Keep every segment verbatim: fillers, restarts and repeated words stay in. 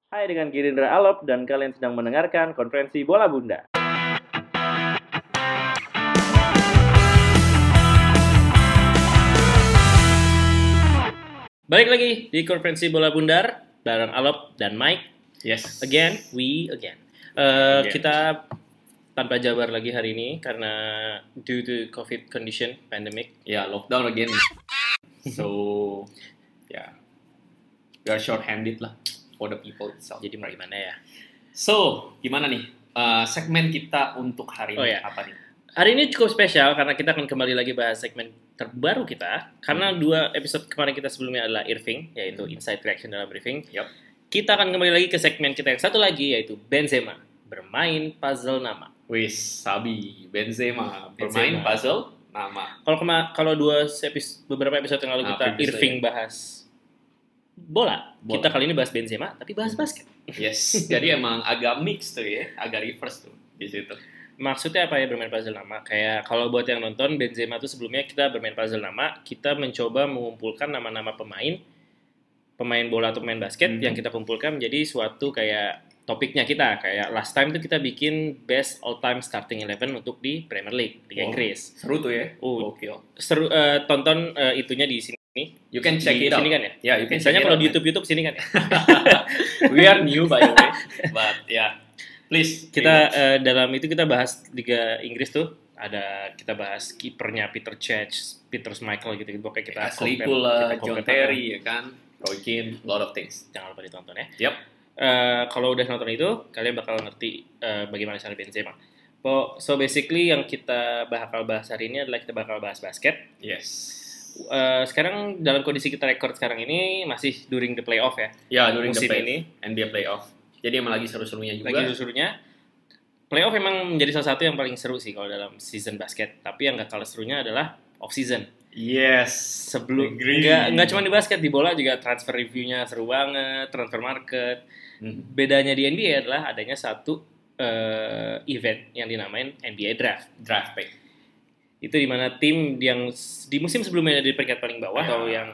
Hai, dengan Girindra Alop dan kalian sedang mendengarkan konferensi Bola Bunda. Balik lagi di konferensi Bola Bundar bareng Alop dan Mike. Yes. Again, we again. Uh, Again. Kita tanpa Jabar lagi hari ini karena due to COVID condition, pandemic. Ya, lockdown again. So, ya, we are short-handed lah for the people itself. Jadi mau gimana ya? So, gimana nih uh, segmen kita untuk hari Oh, ini? ya. Apa nih? Hari ini cukup spesial karena kita akan kembali lagi bahas segmen terbaru kita. Karena hmm. dua episode kemarin kita sebelumnya adalah Irving, yaitu Inside Reaction dalam briefing. Yep. Kita akan kembali lagi ke segmen kita yang satu lagi, yaitu Benzema bermain puzzle nama. Wis, Sabi, Benzema bermain Benzema. puzzle nama. Kalau kema- kalau dua episode, beberapa episode yang lalu Nah, kita previously, Irving ya. bahas bola. Bola. Kita kali ini bahas Benzema, tapi bahas basket. Yes, jadi emang agak mix tuh ya, agak reverse tuh di situ. Maksudnya apa ya bermain puzzle nama? Kayak kalau buat yang nonton Benzema tuh sebelumnya kita bermain puzzle nama, kita mencoba mengumpulkan nama-nama pemain pemain bola atau pemain basket Hmm. yang kita kumpulkan menjadi suatu kayak topiknya kita. Kayak last time tuh kita bikin best all time starting eleven untuk di Premier League, Liga Oh, Inggris. Seru tuh ya. Oh. Oke. Seru, eh, tonton eh, itunya di sini. You can check Di it out. sini kan ya? Ya, you can Biasanya check it kalau out, di man. YouTube YouTube sini kan ya. We are new by the way, but yeah, please Kita eh, dalam itu kita bahas Liga Inggris tuh ada kita bahas kipernya Peter Cech, Peter Schmeichel gitu gitu. Pokoknya kita Ashley compare- Cole, kita John compare- Terry ya kan, Roy Keane, lot of things. Jangan lupa ditonton ya. Yep. Eh, kalau udah nonton itu, kalian bakal ngerti eh, bagaimana cara Benzema. Po- So basically yang kita bakal bahas hari ini adalah kita bakal bahas basket. Yes. Eh, sekarang dalam kondisi kita record sekarang ini masih during the playoff ya. Ya, during the Musim play, ini. N B A playoff. Jadi emang lagi seru-serunya juga. Lagi serunya. Playoff memang menjadi salah satu yang paling seru sih kalau dalam season basket. Tapi yang gak kalah serunya adalah off season. Yes. Sebelum Agree. nggak nggak cuma di basket, di bola juga transfer reviewnya seru banget, transfer market. Hmm. Bedanya di N B A adalah adanya satu eh, event yang dinamain N B A Draft. Draft pick. Itu dimana tim yang s- di musim sebelumnya di peringkat paling bawah Ya. atau yang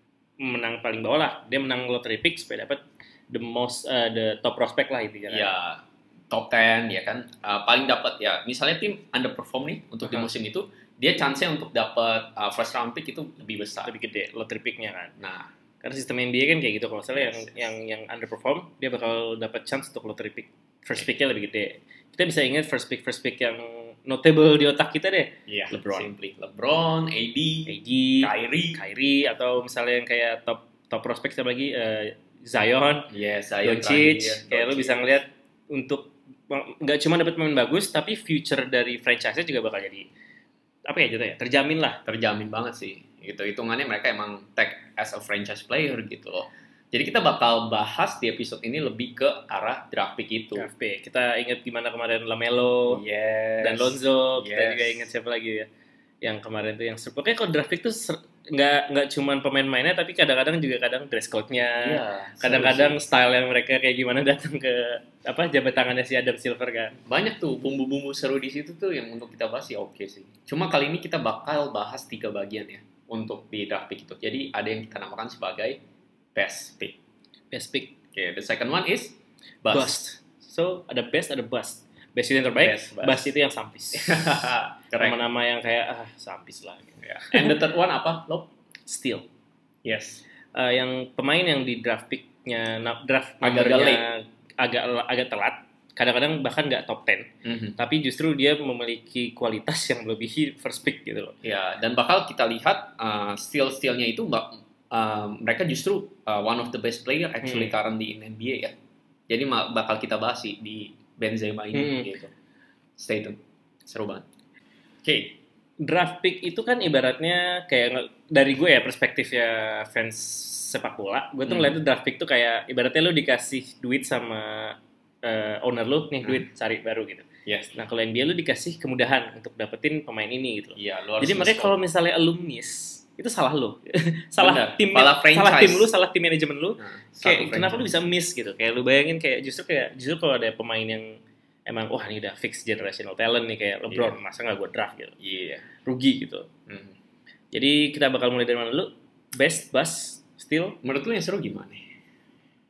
menang paling bawah lah, dia menang lottery pick supaya dapat the most uh, the top prospect lah intinya kan. Ya, top ten ya kan. Uh, paling dapat ya, misalnya tim underperform nih untuk di Uh-huh. musim itu, dia chance-nya untuk dapat uh, first round pick itu lebih besar. Lebih gede lottery picknya kan. Nah, Karena sistem N B A kan kayak gitu, kalau misalnya yang Yes, yes. yang yang underperform dia bakal dapat chance untuk lottery pick. First picknya lebih gede. Kita bisa ingat first pick first pick yang notable di otak kita deh. iya, LeBron. simply LeBron, A D, A D, Kyrie. Kyrie atau misalnya yang kayak top top prospect siapa lagi eh, Zion, Yes, Zion Doncic. terakhir, Kayak lu Doncic. bisa ngeliat untuk nggak cuma dapat pemain bagus, tapi future dari franchise-nya juga bakal jadi apa ya gitu ya, terjamin lah. terjamin banget sih. Gitu hitungannya mereka emang tag as a franchise player gitu loh. Jadi kita bakal bahas di episode ini lebih ke arah draft pick itu. Draft pick. Kita ingat gimana kemarin Lamelo Yes. dan Lonzo. Kita Yes. juga ingat siapa lagi ya yang kemarin tuh yang seru. Pokoknya kalau draft pick tuh ser- nggak nggak cuma pemain-mainnya, tapi kadang-kadang juga kadang dress code-nya. Iya, Kadang-kadang seru sih. style yang mereka kayak gimana datang ke apa jabat tangannya si Adam Silver kan. Banyak tuh bumbu-bumbu seru di situ tuh yang untuk kita bahas ya oke sih. Cuma kali ini kita bakal bahas tiga bagian ya untuk di draft pick itu. Jadi ada yang kita namakan sebagai best pick. Best pick. Oke, the second one is bust. Bust. So ada best ada bust. Best itu yang terbaik, Best, bust. bust. itu yang sampis. Keren. Nama-nama yang kayak ah sampis lah. Gitu. Ya. And the third one apa? Lob? Still. Yes. Eh, yang pemain yang di draft picknya, na- draft Agak numbernya agak agak telat. Kadang-kadang bahkan nggak top ten. Mhm. Tapi justru dia memiliki kualitas yang melebihi first pick gitu loh. Ya, dan bakal kita lihat uh, steal-stealnya itu mbak, uh, mereka justru uh, one of the best player actually Hmm. currently in N B A ya. Jadi ma- bakal kita bahas sih di Benzema ini Hmm. gitu. Stay tune, seru banget. Oke, Draft pick itu kan ibaratnya kayak nge- dari gue ya perspektif ya fans sepak bola, gue tuh Hmm. ngeliatnya draft pick tuh kayak ibaratnya lu dikasih duit sama eh, owner lu nih, Hmm. duit cari baru gitu. yes. Nah kalau N B A lu dikasih kemudahan untuk dapetin pemain ini gitu loh. Iya, lu harus Jadi makanya nge-scout. kalau misalnya lu miss, itu salah lu. salah Benar, tim, salah salah franchise. tim lu, salah tim manajemen lu. Nah, Kayak satu kenapa lu franchise. bisa miss gitu? Kayak lu bayangin kayak justru kayak justru kalau ada pemain yang emang wah ini udah fix generational talent nih kayak LeBron, Iya. masa nggak gue draft gitu? Iya. Rugi gitu. Mhm. Jadi kita bakal mulai dari mana dulu? Best, bust, still. Menurut lu yang seru gimana?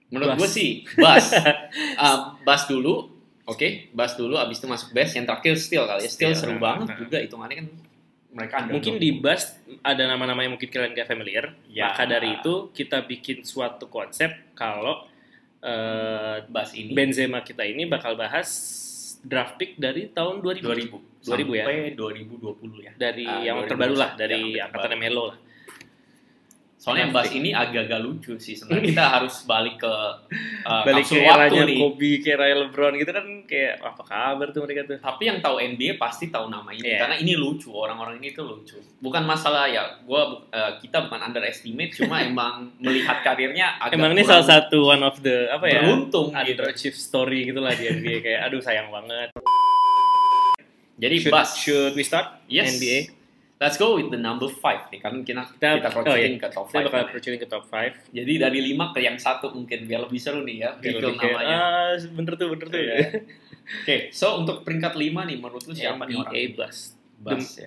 Menurut Bas. gue sih Bas. uh, Bas dulu, oke, okay? Bas dulu, abis itu masuk best. Yang terakhir Steel kali ya. Steel Steel, seru nah, banget nah. juga hitungannya kan. Mereka ada Mungkin di Bas ada nama-nama yang mungkin kalian gak familiar. Ya. Maka dari itu kita bikin suatu konsep kalau uh, Bas ini Benzema kita ini bakal bahas draft pick dari tahun dua ribu. dua ribu. dua ribu ya. Sampai dua ribu dua puluh ya. Dari Uh, yang dua ribu terbaru lah, yang dari terbaru. angkatan Melo lah. Soalnya yang bahas ini agak-agak lucu sih. Sebenarnya kita harus balik ke uh, Balik ke kapsul waktu eranya nih. Kobe, ke era LeBron gitu kan, kayak apa kabar tuh mereka tuh. Tapi yang tahu N B A pasti tahu nama ini Yeah. karena ini lucu, orang-orang ini tuh lucu. Bukan masalah ya, gua uh, kita bukan underestimate, cuma emang melihat karirnya agak Emang ini kurang salah satu one of the apa ya? beruntung gitu. Underachieve story gitu lah di N B A, kayak aduh sayang banget. Jadi Should, Bas, should we start yes. N B A? Let's go with the number five nih, kan kita Kita- kita oh, proceeding iya. ke top Kita five. bakal kan. proceeding ke top lima. Jadi dari lima ke yang satu mungkin biar lebih seru nih ya, Biar reveal lebih kayak, namanya. ah bener tuh, bener tuh. Iya. Oke, so untuk peringkat lima nih menurut lu siapa nih N B A orang? Bas. Bas ya.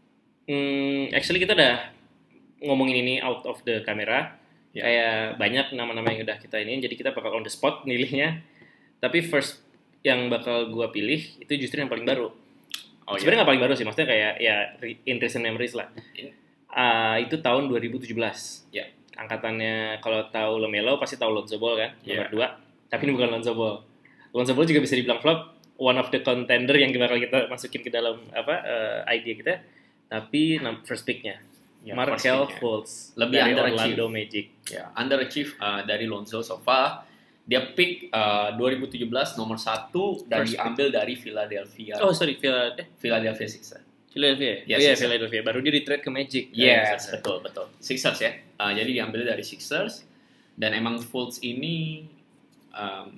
Hmm, actually kita udah ngomongin ini out of the camera. Ya. Kayak banyak nama-nama yang udah kita ini, jadi kita bakal on the spot milihnya. Tapi first yang bakal gua pilih itu justru yang paling baru. Oh, Sebenarnya iya. nggak paling baru sih, maksudnya kayak ya re- in recent memories lah. In- Ah, itu tahun dua ribu tujuh belas. Ya. Angkatannya kalau tahu Lamelo pasti tahu Lonzo Ball kan, Ya. nomor dua. Tapi ini bukan Lonzo Ball. Lonzo Ball juga bisa dibilang flop, one of the contender yang bakal kita masukin ke dalam apa eh, idea kita. Tapi nam- first pick-nya Ya, Markel first pick-nya. Fultz Lebih dari underachieve. Orlando Magic. Ya, underachieve uh, dari Lonzo so far. Dia pick uh, dua ribu tujuh belas nomor satu dan First pick. diambil dari Philadelphia. Oh sorry, Phila- eh, Philadelphia Sixers. Philadelphia. Yes, oh iya, yes, Philadelphia. Baru dia di trade ke Magic. Yes, Ah, betul betul. Sixers ya. Uh, jadi diambil dari Sixers dan emang Fultz ini um,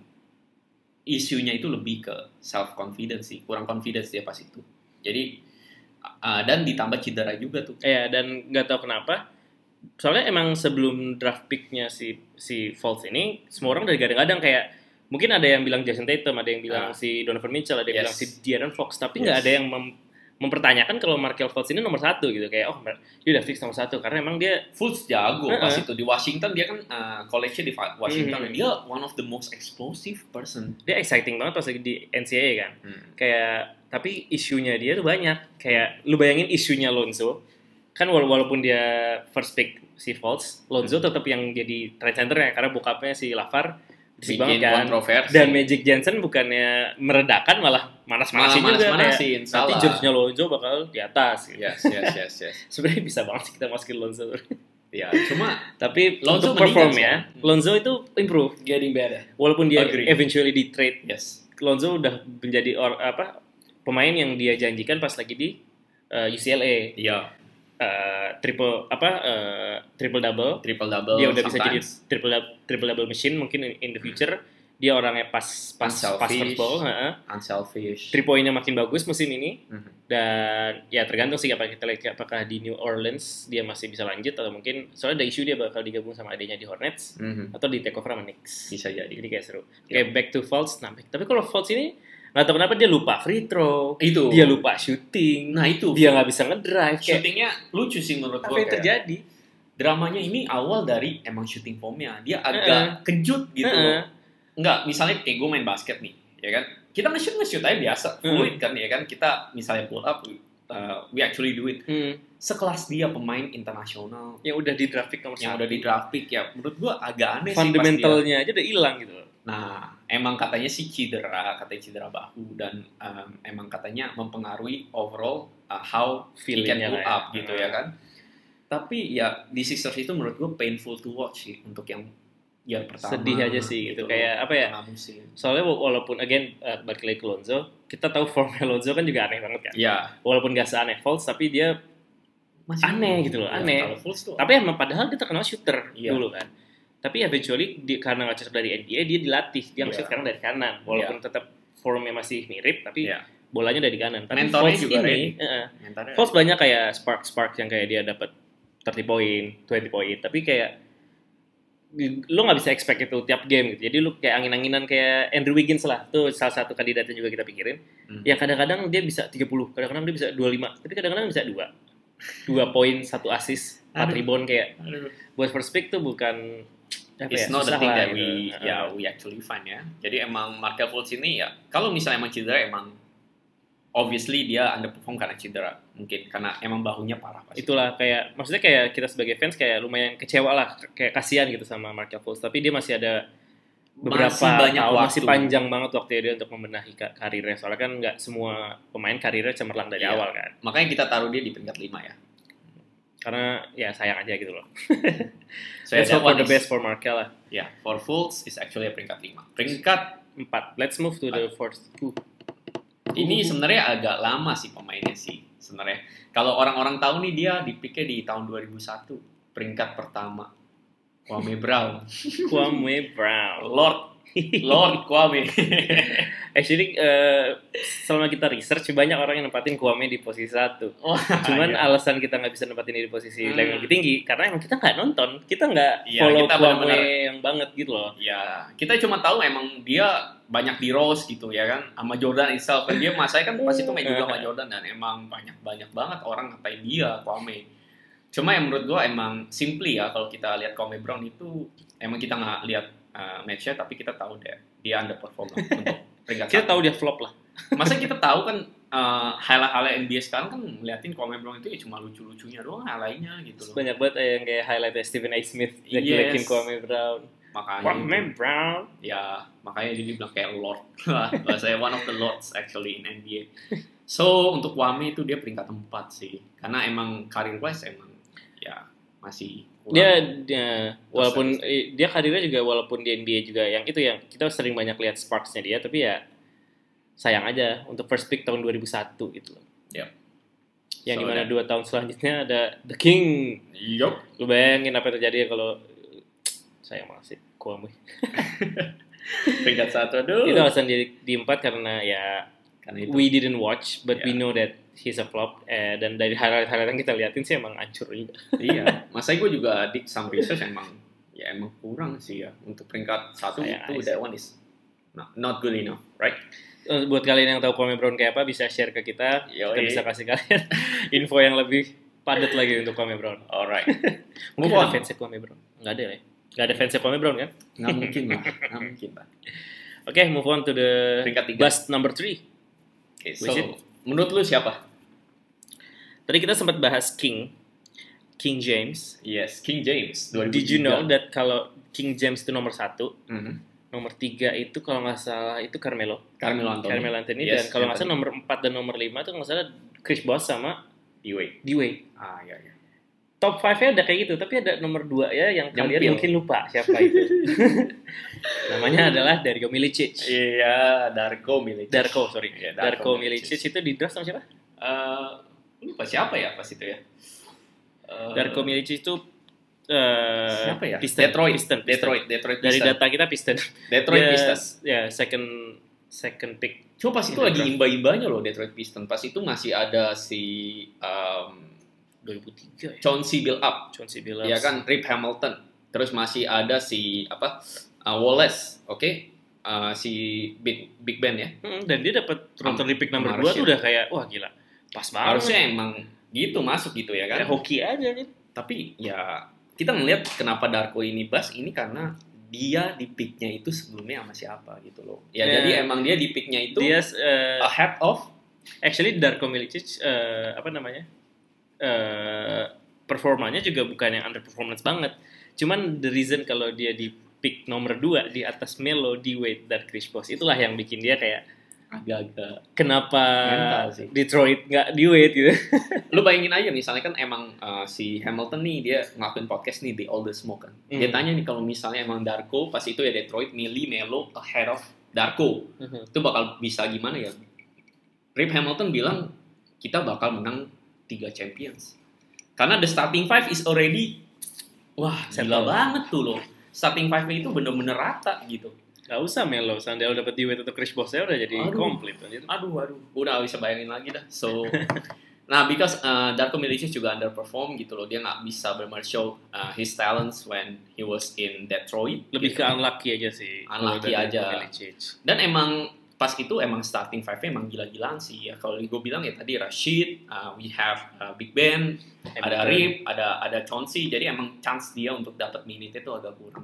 isunya itu lebih ke self confidence sih, kurang confidence dia pas itu. Jadi uh, dan ditambah cedera juga tuh. Iya, dan nggak tahu kenapa. Soalnya emang sebelum draft pick-nya si si Fultz ini, semua orang dari gadang-gadang kayak mungkin ada yang bilang Jason Tatum, ada yang bilang Ah. si Donovan Mitchell, ada yang Yes. bilang si De'Aaron Fox, tapi nggak Yes. ada yang mem- mempertanyakan kalau Markel Fultz ini nomor satu gitu, kayak oh dia udah fix nomor satu karena emang dia Fultz jago Uh-uh. pas itu di Washington, dia kan uh, college-nya di Fa- Washington Mhm. dan dia one of the most explosive person. dia exciting banget pas lagi di N C A A kan. Kayak tapi isunya dia tuh banyak. Kayak lu bayangin isunya Lonzo. Kan wala- walaupun dia first pick si Fultz, Lonzo tetap yang jadi trade center-nya karena bokapnya si Lavar berisik banget Bikin kan. kontroversi. Dan Magic Johnson bukannya meredakan malah manas-manasin Malah juga manas-manasin, kayak nanti salah. George-nya Lonzo bakal di atas gitu. Yes, yes, yes, yes. Sebenarnya bisa banget sih kita masukin Lonzo. Ya, cuma Tapi Lonzo untuk perform meninggal ya, sih. Lonzo itu improve. getting better. Walaupun dia Agree. eventually di trade, Yes. Lonzo udah menjadi or, apa pemain yang dia janjikan pas lagi di uh, U C L A. Iya, Uh, triple apa uh, triple double. triple double. Dia udah bisa jadi sometimes. triple dou- triple double machine mungkin in, in the future. Dia orangnya pas pas pas first Unselfish. ball, heeh. Unselfish. Three point-nya makin bagus musim ini. Mhm. Dan ya tergantung sih apa kita lihat apakah di New Orleans dia masih bisa lanjut atau mungkin soalnya ada isu dia bakal digabung sama adanya di Hornets Mhm. atau di take over sama Knicks. Bisa jadi. Jadi kayak seru. Ya. Kayak back to Fultz, nah, tapi kalau Fultz ini nggak tahu kenapa dia lupa free throw, Itu. dia lupa shooting, Nah itu. dia nggak bisa ngedrive. Kayak Shootingnya lucu sih menurut apa gue. yang terjadi? Dramanya ini awal dari emang shooting formnya. Dia agak kejut gitu Heeh. loh. Enggak, misalnya kayak gue main basket nih, ya kan? Kita nge-shoot nge-shoot aja biasa, fluid kan ya kan? Kita misalnya pull up, uh, we actually do it. Hmm. Sekelas dia pemain internasional Yang udah di draft pick nomor yang satu. udah di draft pick ya, menurut gue agak aneh sih pas dia. Fundamentalnya aja udah hilang gitu. Nah, emang katanya sih cedera, katanya cedera bahu dan um, emang katanya mempengaruhi overall uh, how he can Feeling-nya pull lah ya. up gitu Hmm. ya kan. Tapi ya di Sixers itu menurut gue painful to watch sih untuk yang year pertama. Sedih aja sih gitu. Kayak apa ya? Tengah musim. Soalnya wa- walaupun again uh, balik lagi ke Lonzo, kita tahu formnya Lonzo kan juga aneh banget kan. Ya, Walaupun gak seaneh Fultz, tapi dia masih Aneh gitu loh, Ya, aneh. Kalau Fultz tuh tapi emang padahal dia terkenal shooter Iya. dulu kan. Tapi eventually di, karena nggak cocok dari N B A dia dilatih dia Iya. nge-shoot sekarang dari kanan walaupun tetap formnya masih mirip tapi Iya. bolanya dari kanan. Tapi Mentornya Fultz juga ini, uh, mentalnya Fultz banyak kayak spark spark yang kayak dia dapat thirty point, twenty point, tapi kayak lu nggak bisa expect itu tiap game gitu. Jadi lu kayak angin-anginan kayak Andrew Wiggins lah. Tuh salah satu kandidatnya juga kita pikirin. Hmm. Ya kadang-kadang dia bisa tiga puluh, kadang-kadang dia bisa dua puluh lima, tapi kadang-kadang bisa dua. dua poin, satu assist, empat Aduh. rebound kayak Aduh. buat first pick tuh bukan Apa it's ya, not the susah thing lah that gitu. we Uh, ya we actually find ya. Jadi emang Markel Fultz ini ya kalau misalnya emang cedera emang obviously dia underperform karena cedera, mungkin karena emang bahunya parah pasti. Itulah kayak maksudnya kayak kita sebagai fans kayak lumayan kecewa lah, kayak kasihan gitu sama Markel Fultz, tapi dia masih ada beberapa Masih banyak tahun, waktu. masih panjang banget waktu dia untuk membenahi ka- karirnya, soalnya kan nggak semua pemain karirnya cemerlang dari Iya. awal kan, Makanya kita taruh dia di peringkat lima ya. karena ya sayang aja gitu loh. So Let's that hope for one the is- best for Markel lah. Ya, for Fultz is actually a peringkat lima. Peringkat Empat. Let's move to the fourth. Uh. ini sebenarnya agak lama sih pemainnya sih sebenarnya. Kalau orang-orang tahu nih dia dipikir di tahun dua ribu satu, peringkat pertama. Kwame Brown. Kwame Brown. Lord Lord Kwame. Actually, eh, selama kita research banyak orang yang nempatin Kwame di posisi satu. Wah, Cuman iya. alasan kita nggak bisa nempatin dia di posisi Hmm. yang lebih tinggi karena emang kita nggak nonton, kita nggak Iya, follow kita Kwame benar-benar- yang banget gitu loh. Ya, kita cuma tahu emang dia banyak di roast gitu ya kan sama Jordan itself. Dan dia masanya kan pas itu main juga sama Jordan dan emang banyak-banyak banget orang ngatain dia Kwame. Cuma yang menurut gua emang simply ya kalau kita lihat Kwame Brown itu emang kita nggak lihat uh, match-nya tapi kita tahu deh dia underperform lah untuk peringkat Kita satu. tahu dia flop lah. Masa kita tahu kan uh, highlight-highlight N B A sekarang kan ngeliatin Kwame Brown itu ya cuma lucu-lucunya doang highlight-nya gitu loh. Banyak banget yang kayak highlightnya Stephen A. Smith Yes. jelek-jelekin Kwame Brown. Makanya Kwame itu. Brown. Ya, makanya jadi bilang kayak Lord lah. Saya one of the Lords actually in N B A. So, untuk Kwame itu dia peringkat empat sih. Karena emang karir wise emang ya masih kurang. Dia, dia walaupun eh, dia karirnya juga walaupun di N B A juga yang itu yang kita sering banyak lihat sparks-nya dia, tapi ya sayang aja untuk first pick tahun dua ribu satu gitu loh. Yep. Yang So, dimana that- dua tahun selanjutnya ada The King. Yup. Lu bayangin apa yang terjadi ya kalau sayang banget sih Kwame. Peringkat satu aduh. Itu alasan di, di empat karena ya Karena itu. we didn't watch but we Yeah. know that he's a flop, eh, dan dari highlight-highlight yang kita liatin sih emang hancur juga. Iya. Masa gue juga di some research emang ya emang kurang sih ya untuk peringkat satu Sayang itu aja. that one is not, not good enough, right? Eh, buat kalian yang tahu Kwame Brown kayak apa bisa share ke kita, Yoi. kita bisa kasih kalian info yang lebih padat lagi untuk Kwame Brown. Alright. Mungkin Move ada on. fansnya Kwame Brown? Nggak ada ya? Nggak ada fansnya Kwame Brown kan? Nggak mungkin lah, nggak mungkin lah. Oke, move on to the Peringkat tiga. bust number three. Oke, so Which it? menurut lu siapa? Tadi kita sempat bahas King, King James. Yes, King James. dua ribu tiga. Did you know that kalau King James itu nomor satu, Mhm. nomor tiga itu kalau nggak salah itu Carmelo. Carmelo Anthony. Carmelo Anthony, Yes, dan kalau nggak salah Anthony. nomor empat dan nomor lima itu nggak salah Chris Bosh sama D-Wade. D-Wade. Ah, iya, iya. Top five-nya ada kayak gitu, tapi ada nomor dua ya yang kalian Nyempil. mungkin lupa siapa itu. Namanya adalah Dario Milicic. Iya, Darko Milicic. Darko, sorry. Iya, Darko Milicic itu di draft sama siapa? Eh, lupa siapa ya pas itu ya? Eh, Darko Milicic itu eh, siapa ya? Piston. Detroit. Piston, Piston. Detroit, Detroit Dari Pistons. data kita Piston. Detroit Dia- Pistons. Ya, second second pick. Cuma pas itu Detroit. lagi imba-imbanya loh Detroit Pistons. Pas itu masih ada si um, dua ribu tiga ya. Chauncey Billups, Chauncey Billups. ya kan, Rip Hamilton. Terus masih ada si apa? uh, Wallace, oke? Uh, si Big Big Ben ya. Hmm, dan dia dapat lottery pick nomor Sama dua tuh Rashid. udah kayak wah gila. Pas banget. Harusnya emang gitu masuk gitu ya kan. Kayak hoki aja gitu. Tapi ya kita ngelihat kenapa Darko ini bas ini karena dia di picknya itu sebelumnya sama siapa gitu loh. Ya, Ya. jadi emang dia di picknya itu Dia eh, ahead of actually Darko Milicic eh, apa namanya? eh performanya juga bukan yang underperformance banget. Cuman the reason kalau dia di pick nomor dua di atas Melo, D-Wade, dan Chris Bosh itulah yang bikin dia kayak agak-agak. kenapa Mental sih. Detroit nggak D-Wade gitu. Lu bayangin aja misalnya kan emang uh, si Hamilton nih dia ngelakuin podcast nih The All The Smoke kan. Dia Hmm. tanya nih kalau misalnya emang Darko pas itu ya Detroit milih Melo ahead of Darko. Itu bakal bisa gimana ya? Rip Hamilton bilang kita bakal menang tiga champions. Karena the starting five is already wah, gila Settle. banget tuh loh. Starting five-nya itu bener-bener rata gitu. Gak usah Melo, seandainya udah dapet D-Wade atau Chris Bosh, saya udah jadi Aduh. komplit. Anjir. Aduh, aduh. Udah gak bisa bayangin lagi dah. So, nah, because uh, Darko Milicic juga underperform gitu loh. Dia nggak bisa benar show uh, his talents when he was in Detroit. Lebih gitu. ke unlucky aja sih. Unlucky kalau dari aja. Milicic. Dan emang pas itu emang starting five-nya emang gila-gilaan sih. Ya, kalau gue bilang ya tadi Rashid, uh, we have uh, Big Ben, ada Hamilton. Rip, ada ada Chauncey. Jadi emang chance dia untuk dapat minute itu agak kurang sih.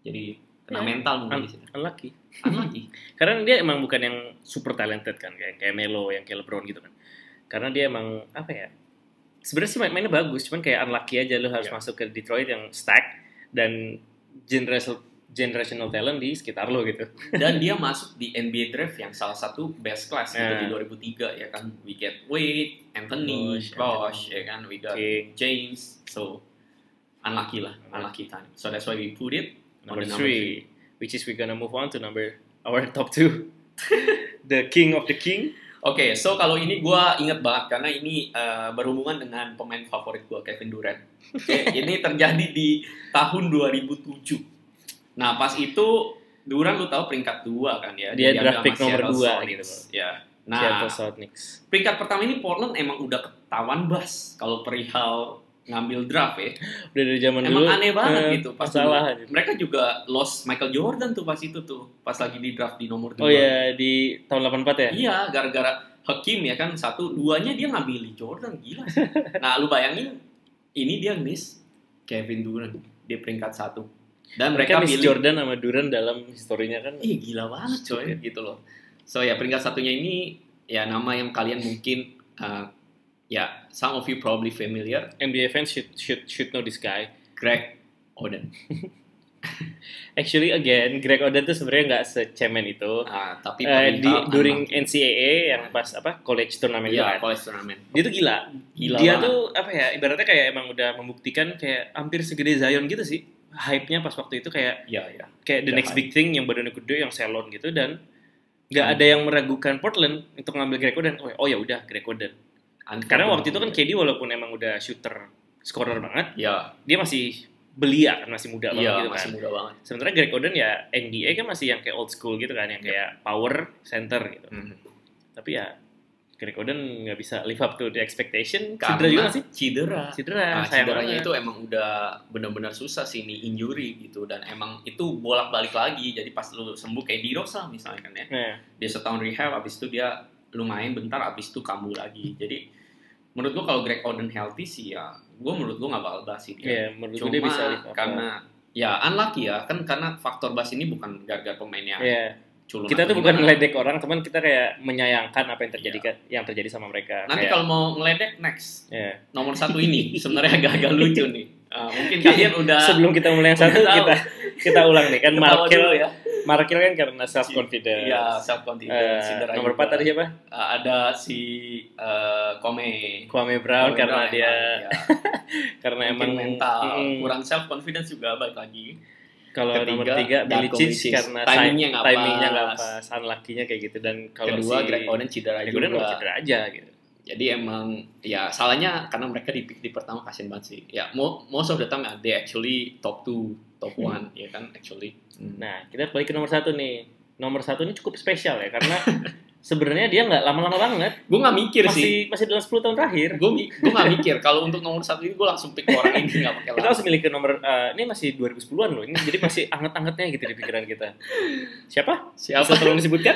Jadi kena Ya, mental mungkin un- di sini. unlucky. Unlucky. Karena dia emang bukan yang super talented kan, kayak kayak Melo, yang kayak LeBron gitu kan. Karena dia emang apa ya? Sebenarnya sih main- mainnya bagus, cuman kayak unlucky aja lu harus Iya. masuk ke Detroit yang stack dan generational generational talent di sekitar lo gitu. Dan dia masuk di N B A draft yang salah satu best class gitu Nah. di dua ribu tiga ya kan. We get Wade, Anthony, Bosh, Bosh, Anthony. ya kan. We got King. James. So unlucky lah, unlucky time. So that's why we put it on Number the three, which is we gonna move on to number our top two, the king of the king. Oke, so kalau ini gue inget banget karena ini uh, berhubungan dengan pemain favorit gue, Kevin Durant. Oke, ini terjadi di tahun dua ribu tujuh. Nah, pas itu Durant lu tahu peringkat dua kan ya. Dia diambil draft sama pick nomor Seattle dua Sonics. gitu. Ya. Nah, Seattle Sonics. peringkat pertama ini Portland emang udah ketahuan bas kalau perihal ngambil draft ya. Udah dari zaman Emang dulu. aneh banget eh, gitu pas masalah. dulu. Mereka juga lost Michael Jordan tuh pas itu tuh, pas lagi di draft di nomor dua. Oh ya, di tahun delapan puluh empat ya? Iya, gara-gara Hakim ya kan, satu, duanya dia ngambil Jordan, gila sih. Nah, lu bayangin, ini dia miss Kevin Durant, dia peringkat satu. Dan mereka, Mereka miss pilih, Jordan sama Durant dalam historinya kan. ih gila banget coy, gitu loh. So ya, peringkat satunya ini, ya nama yang kalian mungkin, uh, ya, some of you probably familiar, N B A fans should should should know this guy. Greg Oden. Actually again, Greg Oden tuh sebenarnya nggak secemen itu. Ah, tapi Eh, di perihal during anak- N C A A yang pas apa college tournament itu Iya, kan. college tournament. Dia tuh gila. Gila Dia banget. tuh apa ya? Ibaratnya kayak emang udah membuktikan kayak hampir segede Zion gitu sih. Hype-nya pas waktu itu kayak Iya, iya. kayak the Udah next hype. big thing yang badannya gede, yang salon gitu dan nggak Hmm. ada yang meragukan Portland untuk ngambil Greg Oden. Oh, oh ya udah Greg Oden. Karena waktu itu kan K D walaupun emang udah shooter, scorer banget, ya, dia masih belia kan, masih muda banget iya, gitu masih kan. muda banget. Sementara Greg Oden ya N B A kan masih yang kayak old school gitu kan, yang kayak power center gitu. Mhm. Tapi ya Greg Oden nggak bisa live up to the expectation. Karena Cedera juga nggak sih? Cedera. Cedera. Nah, sayang cederanya banget. itu emang udah benar-benar susah sih ini injury gitu, dan emang itu bolak-balik lagi. Jadi pas lu sembuh kayak di Rosa misalnya kan ya. Nah, Dia setahun rehab, abis itu dia lumayan bentar, abis itu kambuh lagi. Jadi menurut gua kalau Greg Oden healthy sih ya, gua menurut gua nggak bakal bahas sih dia. ya menurut gue Cuma dia bisa live up. karena ya unlucky ya kan, karena faktor bas ini bukan gara-gara pemainnya ya, culun kita atau tuh bukan gimana. ngeledek orang, teman kita kayak menyayangkan apa yang terjadi yang terjadi sama mereka. Nanti Kayak, kalau mau ngeledek next ya. nomor satu ini sebenarnya agak-agak lucu nih. Uh, mungkin kalian udah Sebelum kita mulai yang satu, udah tahu. kita kita ulang nih kan. Ketawa Markel dulu ya. Markel kan karena self confidence. Iya, self confidence. Eh, nomor empat tadi siapa? ada si uh, Kome. Kwame Brown Kwame karena Brown dia emang, ya. karena Mungkin emang mental, mm, kurang self confidence juga balik lagi. kalau Ketiga, nomor tiga Billy Darko Cich Milicic. karena Timingnya si- nggak timingnya pas. nggak pas, unlucky-nya kayak gitu. Dan kalau Kedua, si Greg Oden cedera Greg juga. Oden mau cedera aja gitu. Jadi emang ya salahnya karena mereka di pick di pertama, kasian banget sih. Ya mo- most of the time ya, they actually top two, top one ya kan actually. Hmm. Nah, kita balik ke nomor satu nih. Nomor satu ini cukup spesial ya karena sebenarnya dia nggak lama-lama banget. Gue nggak mikir Masih sih. masih dalam sepuluh tahun terakhir. Gue gue nggak mikir kalau untuk nomor satu ini gue langsung pick orang ini, nggak pakai Kita lama. harus milih ke nomor eh, ini masih dua ribu sepuluhan loh. Ini jadi masih anget-angetnya gitu di pikiran kita. Siapa? Siapa? Bisa tolong disebutkan?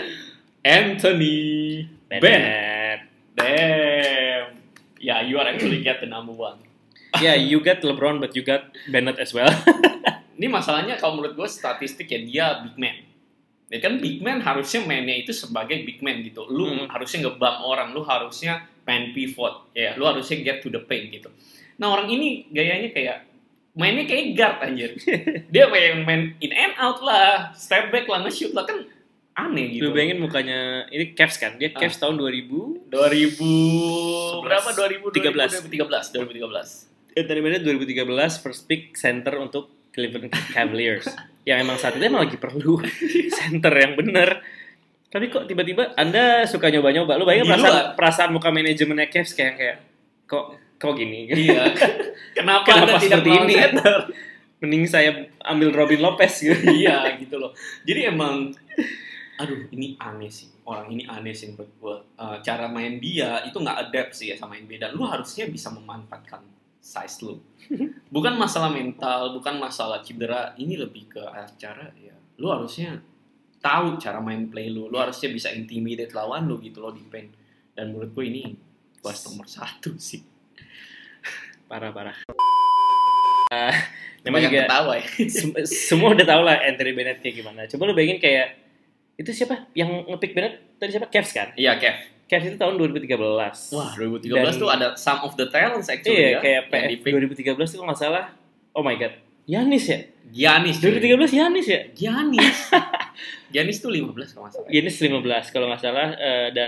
Anthony Bennett. Bennett. Damn. Yeah, you are actually get the number one. Ya, yeah, you got LeBron but you got Bennett as well. Ini masalahnya kalau menurut gue statistik ya, dia big man. Ya kan big man harusnya mainnya itu sebagai big man gitu. Lu Hmm. harusnya ngebam orang, lu harusnya main pivot, ya. Lu harusnya get to the paint gitu. Nah orang ini gayanya kayak mainnya kayak guard anjir. Dia main main in and out lah, step back lah, nge-shoot lah, kan aneh gitu. Lu bayangin mukanya ini Cavs kan? Dia Cavs tahun dua ribu dua ribu berapa? dua ribu tiga belas. dua ribu tiga belas dua ribu tiga belas. Anthony Bennett dua ribu tiga belas first pick center untuk Cleveland Cavaliers. Yang emang saat itu emang lagi perlu center yang bener. Tapi kok tiba-tiba Anda suka nyoba-nyoba? Lu bayangin Di perasaan, luar. perasaan muka manajemennya Cavs kayak kayak kok kok gini? Iya. Kenapa, Kenapa Anda tidak seperti mau ini? center? Mending saya ambil Robin Lopez gitu. Iya gitu loh. Jadi emang, aduh ini aneh sih. Orang ini aneh sih menurut gue. Uh, cara main dia itu nggak adapt sih ya sama N B A. Dan lu harusnya bisa memanfaatkan size lu. Bukan masalah mental, bukan masalah cedera. Ini lebih ke cara ya. Lu harusnya tahu cara main play lu. Lu harusnya bisa intimidate lawan lu gitu loh di paint. Dan menurut gue ini pas nomor satu sih. Parah-parah. namanya juga ketawa ya. sem- semua udah tahu lah Anthony Bennett kayak gimana. Coba lu bayangin kayak itu siapa yang ngepick Bennett tadi siapa? Cavs kan? Iya, Kev. Cavs itu tahun dua ribu tiga belas. Wah, dua ribu tiga belas Dan- tuh ada some of the talents actually Iya, ya. kayak P yang F di-pick. dua ribu tiga belas itu nggak salah. Oh my god, Giannis ya? Giannis. dua ribu tiga belas Giannis ya? Giannis. Giannis tuh lima belas kalau nggak salah. Giannis lima belas kalau nggak salah eh, dan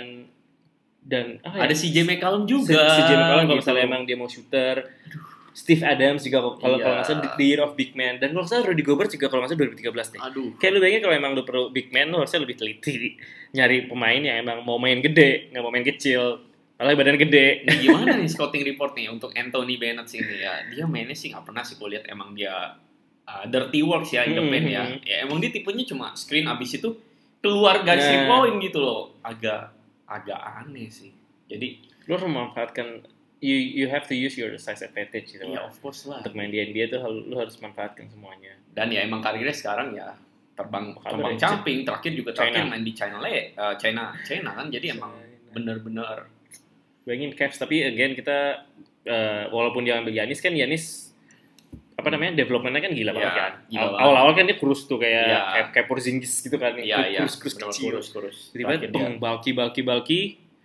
dan ah, Ada C J McCollum Si, juga. si Jimmy Fallon kalau gitu. misalnya emang dia mau shooter. Steve Adams juga kalau kalau Iya. kalau nggak salah the year of big man, dan kalau nggak salah Rudy Gobert juga kalau nggak salah dua ribu tiga belas deh. Aduh. Kayak lu bayangin kalau emang lu perlu big man, lu harusnya lebih teliti nyari pemain yang emang mau main gede, nggak mau main kecil, malah badan gede. Nah, gimana nih scouting report nih untuk Anthony Bennett sih ini ya? Dia mainnya sih nggak pernah sih gue lihat emang dia uh, dirty works ya in the paint ya. Hmm. Ya emang dia tipenya cuma screen abis itu keluar garis Nah. three point gitu loh. Agak agak aneh sih. Jadi Lu harus memanfaatkan, you you have to use your size advantage gitu. ya lah. of course lah. Untuk main di N B A tuh lu harus manfaatkan semuanya. Dan ya emang karirnya sekarang ya terbang Kabar terbang ya, camping, terakhir juga terakhir China. main di China Le, uh, China China kan, jadi emang bener-bener Bayangin Cavs, tapi again kita uh, walaupun dia ambil Giannis kan Giannis apa namanya developmentnya kan gila Ya, banget kan. gila Aw- banget. Awal-awal kan dia kurus tuh kayak Ya. kayak, kayak Porzingis gitu kan, iya iya kurus-kurus bener-bener kecil. kurus-kurus. Tiba-tiba Terakhir dia. bang, bulky bulky bulky,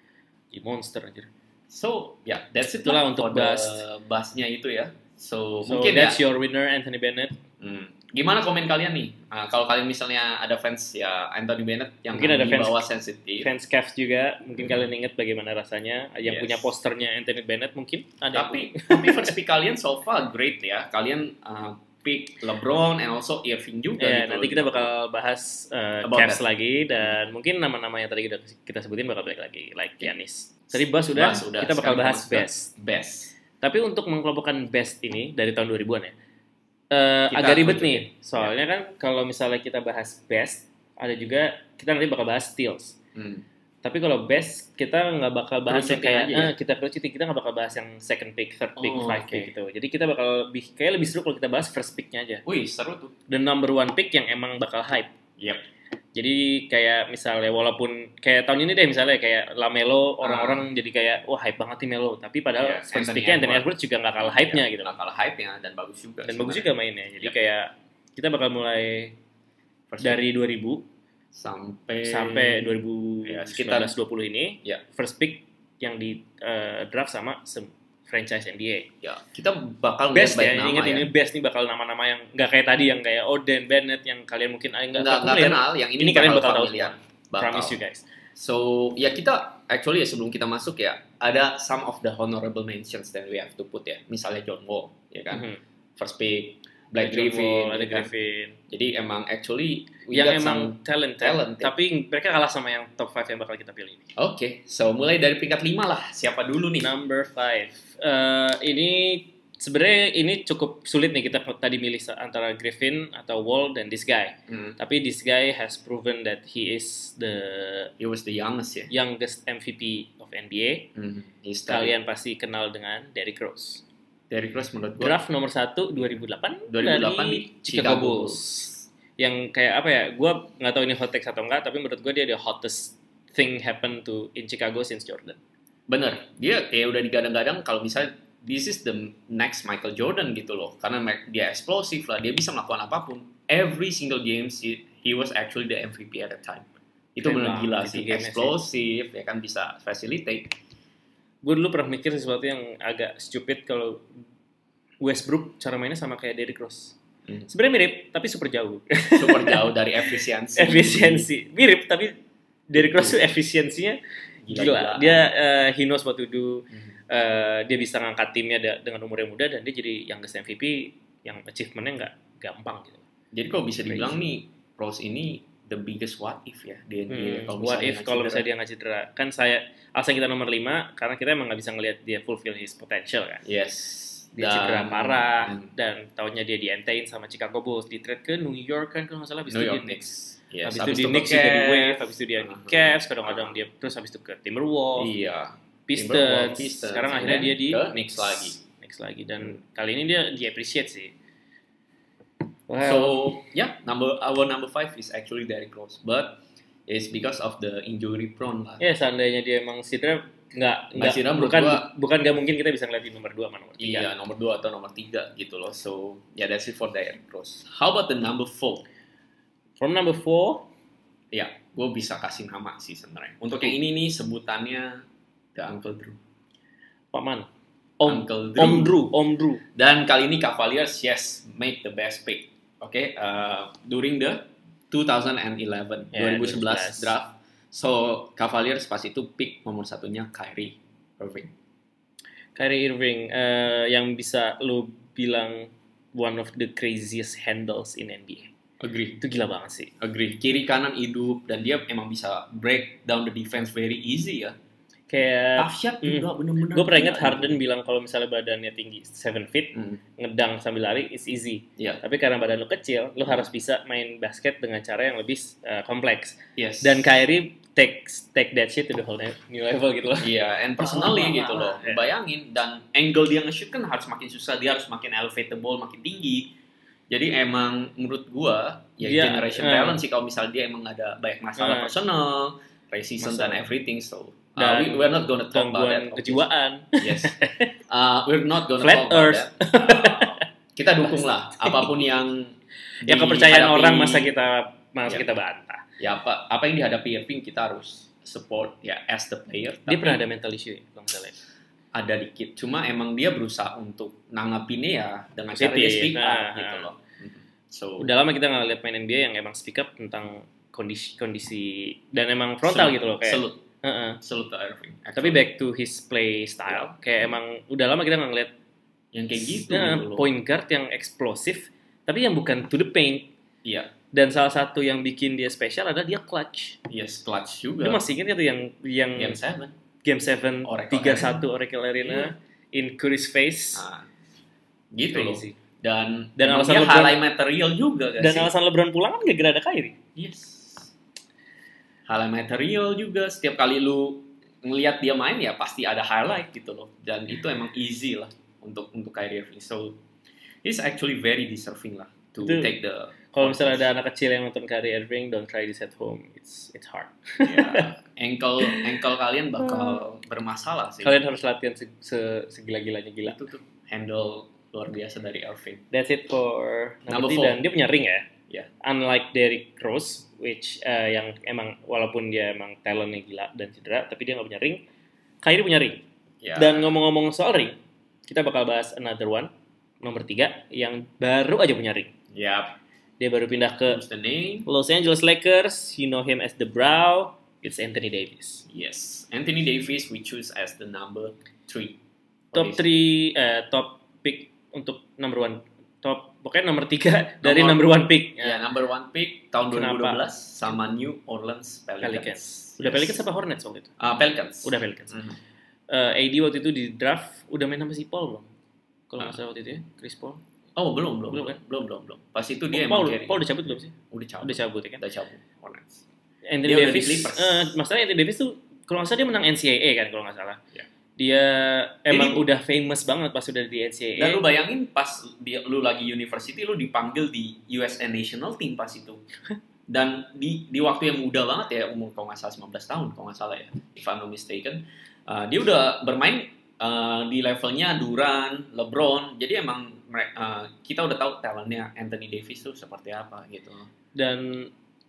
di monster anjir. So, ya, yeah, that's it Itulah lah untuk for the bahas. bahasnya itu ya. So, So mungkin that's ya. your winner Anthony Bennett. Hmm. Gimana komen kalian nih? Nah, kalau kalian misalnya ada fans ya Anthony Bennett yang Mungkin ada di fans- bawah sensitif. Fans Cavs juga mungkin kalian ingat bagaimana rasanya yang Yes. punya posternya Anthony Bennett mungkin ada. Tapi tapi first pick kalian so far great ya. Kalian uh, pick LeBron and also Irving juga Ya, gitu. nanti kita bakal bahas uh, About Cavs that. lagi dan mungkin nama-nama yang tadi kita, kita sebutin bakal balik lagi, like Giannis. Tadi bahas sudah, Bahas udah. kita bakal Sekarang bahas kita best. best. Tapi untuk mengelompokkan best ini dari tahun dua ribuan ya, uh, Kita agak ribet tunjukin. nih. Soalnya kan kalau misalnya kita bahas best, ada juga kita nanti bakal bahas steals. Hmm. Tapi kalau best kita nggak bakal bahas yang Kerucutin kayak aja ya? eh, kita kerucutin, kita nggak bakal bahas yang second pick, third pick, Oh, five oke. pick gitu. Jadi kita bakal lebih kayak lebih seru kalau kita bahas first picknya aja. Wih, seru tuh. Dan number one pick yang emang bakal hype. Yep. Jadi kayak misalnya walaupun kayak tahun ini deh misalnya kayak Lamelo orang-orang jadi kayak wah hype banget nih Melo, tapi padahal Iya, first Anthony picknya Anthony Edwards. Edwards juga nggak kalah hype-nya gitu. Nggak kalah hype-nya dan bagus juga. Dan bagus juga mainnya. Jadi Yep. kayak kita bakal mulai First dari dua ribu sampai sampai dua ribu Ya, sembilan belas sekitar- dua puluh ini Ya. first pick yang di uh, draft sama se- franchise N B A. ya kita bakal Best lihat ya, banyak nama ingat ya. ini best nih bakal nama-nama yang nggak kayak tadi yang kayak Oden Bennett yang kalian mungkin ah, nggak nggak nggak familiar. kenal yang ini, Ini kalian bakal tahu familiar. semua. Bakal. Promise you guys. So ya kita actually ya sebelum kita masuk ya ada some of the honorable mentions that we have to put ya, misalnya John Wall ya kan, Mhm. first pick Blake John Griffin, Wall, ada ya kan? Griffin. Jadi emang actually we Yang got emang some- talent, talent, ya. tapi mereka kalah sama yang top five yang bakal kita pilih. Oke, so mulai dari peringkat lima lah. Siapa dulu nih? Number five. Eh, ini sebenarnya ini cukup sulit nih kita tadi milih sa- antara Griffin atau Wall dan this guy. Hmm, Tapi this guy has proven that he is the he was the youngest ya. youngest M V P of N B A. Hmm, he's Kalian Kalian pasti kenal dengan Derrick Rose. Derrick Rose menurut gue Draft nomor satu dua ribu delapan dua ribu delapan dari di Chicago Chicago Bulls. Yang kayak apa ya? Gue nggak tahu ini hot takes atau enggak, tapi menurut gue dia the hottest thing happen to in Chicago since Jordan. Bener, dia kayak udah digadang-gadang kalau misalnya this is the next Michael Jordan gitu loh, karena ma- dia eksplosif lah, dia bisa melakukan apapun. Every single games he, he was actually the M V P at the time. Itu Keren bener banget gila itu sih, gamenya sih. eksplosif ya kan, bisa facilitate. Gue dulu pernah mikir sesuatu yang agak stupid kalau Westbrook cara mainnya sama kayak Derrick Rose. Hmm. Sebenarnya mirip, tapi super jauh. Super jauh dari efisiensi. Efisiensi mirip, tapi Derrick Rose tuh efisiensinya gila. Gila-gilaan. Dia uh, he knows what to do. Hmm. Uh, dia bisa ngangkat timnya da- dengan umur yang muda dan dia jadi youngest M V P yang achievementnya nggak gampang gitu. Jadi kalau bisa Crazy. dibilang nih, Rose ini the biggest what if ya di N B A. Hmm, Kalau what misalnya if nggak kalau cedera. misalnya dia nggak cedera? Kan saya alasan kita nomor lima karena kita emang nggak bisa ngelihat dia fulfill his potential kan. Yes. Dia Dan- cedera parah hmm, dan tahunnya dia di-entain sama Chicago Bulls, di trade ke New York kan kalau nggak salah habis New itu York di Knicks. Yes, habis itu habis di itu Knicks ke juga di Cavs. Wave, habis itu dia di Uh-huh. Cavs, kadang-kadang Uh-huh. dia terus habis itu ke Timberwolves, Iya. Pistons, Timberwolves, Pistons, sekarang and akhirnya then dia di ke Knicks Knicks lagi. Knicks lagi dan Hmm. kali ini dia di-appreciate sih. So, yeah, number our number five is actually Derrick Rose. But is because of the injury prone lah. Ya, seandainya dia emang cedera, nggak nggak cedera, bukan gua, bukan nggak mungkin kita bisa ngeliat di nomor dua sama nomor tiga. Iya, nomor dua atau nomor tiga gitu loh. So, yeah, that's it for Derrick Rose. How about the number four? From number four, ya, gue bisa kasih nama sih sebenarnya. Untuk yang ini nih sebutannya The Uncle Drew. Paman. Om Uncle Drew. Om Drew, Om Drew. Dan kali ini Cavaliers yes make the best pick. Oke, okay? uh, during the twenty eleven, yeah, twenty eleven draft. So Cavaliers pas itu pick nomor satunya Kyrie Irving. Kyrie Irving uh, yang bisa lo bilang one of the craziest handles in N B A. Agree. Itu gila banget sih. Agree. Kiri kanan hidup dan dia emang bisa break down the defense very easy ya. Kayak tough shot juga mm, bener-bener. Gue pernah ingat Harden bilang kalau misalnya badannya tinggi seven feet, mm. ngedang sambil lari is easy. Yeah. Tapi karena badan lo kecil, lo harus bisa main basket dengan cara yang lebih uh, kompleks. Yes. Dan Kyrie take take that shit to the whole new level gitu loh. Iya, yeah, and personally oh, gitu loh. Yeah. Bayangin dan angle dia nge-shoot kan harus makin susah, dia harus makin elevate the ball makin tinggi. Jadi emang menurut gua ya yeah, generation uh, talent sih kalau misalnya dia emang ada banyak masalah uh, personal, racism dan everything so Uh, we, we're not gonna talk about that. Kejiwaan. Yes. Uh, we're not gonna Flat talk Earth. about that. Uh, kita dukung lah apapun yang yang kepercayaan orang masa kita masa yeah. kita bantah. Ya apa apa yang dihadapi Irving kita harus support ya as the player. Dia pernah ada mental issue ya, kalau misalnya. Ada dikit. Cuma emang dia berusaha untuk nanggapinnya ya dengan cara dia speak up nah, gitu loh. So udah lama kita nggak lihat main N B A yang emang speak up tentang kondisi kondisi dan emang frontal Salut. gitu loh kayak. Salut. Uh-uh. Salut to Irving. Tapi back to his play style, yeah. kayak emang udah lama kita nggak ngeliat yang kayak gitu, nah, gitu point guard yang eksplosif, tapi yang bukan to the paint. Iya. Yeah. Dan salah satu yang bikin dia spesial adalah dia clutch. Yes, clutch juga. Lu masih ingat itu yang yang Game seven Game seven tiga satu Oracle Arena yeah. in Curry's face. Nah, gitu loh. Dan dan alasan dia LeBron, highlight material juga guys. Dan sih? Alasan LeBron pulang kan gak ada Kyrie. Yes. Highlight material juga setiap kali lu ngelihat dia main ya pasti ada highlight gitu loh dan itu emang easy lah untuk untuk Kyrie Irving so he's actually very deserving lah to itu, take the kalau misalnya ada anak kecil yang nonton Kyrie Irving don't try this at home it's it's hard yeah. ankle ankle kalian bakal bermasalah sih kalian harus latihan se, se, segila-gilanya gila itu tuh handle luar biasa dari Irving. That's it for number four dan dia punya ring ya. Yeah. Unlike Derrick Rose, which uh, yang emang walaupun dia emang talentnya gila dan cedera, tapi dia nggak punya ring. Kyrie punya ring. Yeah. Dan ngomong-ngomong soal ring, kita bakal bahas another one, nomor tiga, yang baru aja punya ring. Yep. Dia baru pindah ke Los Angeles Lakers. You know him as the Brow. It's Anthony Davis. Yes, Anthony Davis we choose as the number three. Top three, uh, top pick untuk number one. Top pokoknya nomor tiga dari number one pick. Ya, yeah, number one pick tahun dua ribu dua belas sama New Orleans Pelicans. Pelicans. Udah yes. Pelicans apa Hornets waktu itu? Uh, Pelicans. Udah Pelicans. Mm-hmm. Uh, A D waktu itu di draft udah main sama si Paul belum? Kalau nggak uh. salah waktu itu ya, Chris Paul. Oh belum belum belum kan? Belum belum belum. Pas itu dia Paul, emang Paul udah cabut belum sih? Udah cabut. Udah cabut ya kan? Udah cabut. Hornets. Anthony dia Davis. Uh, masalahnya Anthony Davis tuh kalau nggak salah dia menang N C A A kan kalau nggak salah. Yeah. Dia emang Jadi, udah famous banget pas udah di N C A A. Dan lu bayangin pas dia, lu lagi university lu dipanggil di U S A National Team pas itu. Dan di di waktu yang muda banget ya, umur kalau nggak salah sembilan belas tahun kalau nggak salah ya, if I'm not mistaken. Uh, dia udah bermain uh, di levelnya Durant, LeBron. Jadi emang uh, kita udah tahu talentnya Anthony Davis tuh seperti apa gitu. Dan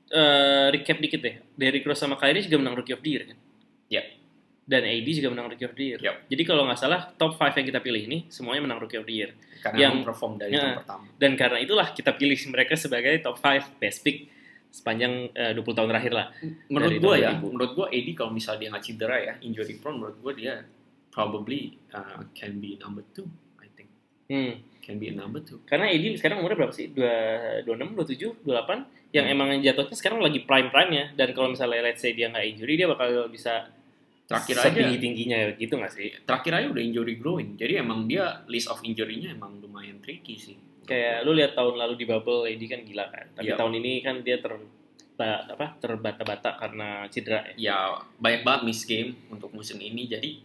uh, recap dikit deh, Derrick Rose sama Kyrie juga menang Rookie of the Year kan? Iya. Yeah. Dan A D juga menang Rookie of the Year. Yep. Jadi kalau nggak salah top lima yang kita pilih ini semuanya menang Rookie of the Year. Karena yang perform dari ya, tahun pertama. Dan karena itulah kita pilih mereka sebagai top lima best pick sepanjang uh, dua puluh tahun terakhir lah. Menurut gue ya, menurut gue A D kalau misalnya dia nggak cedera ya, injury prone, menurut gue dia probably uh, can be number two, I think. Hmm. Can be a number two. Karena A D sekarang umurnya berapa sih? dua puluh enam, dua puluh tujuh, dua puluh delapan yang hmm. emang jatuhnya sekarang lagi prime-prime-nya. Dan kalau misalnya let's say dia nggak injury, dia bakal bisa terakhir aja tinggi-tingginya gitu nggak sih? Terakhir aja udah injury growing. Jadi emang dia list of injury-nya emang lumayan tricky sih. Kayak lu lihat tahun lalu di bubble A D kan gila kan. Tapi yep. tahun ini kan dia ter apa terbata-bata karena cedera. Ya banyak banget miss game untuk musim ini. Jadi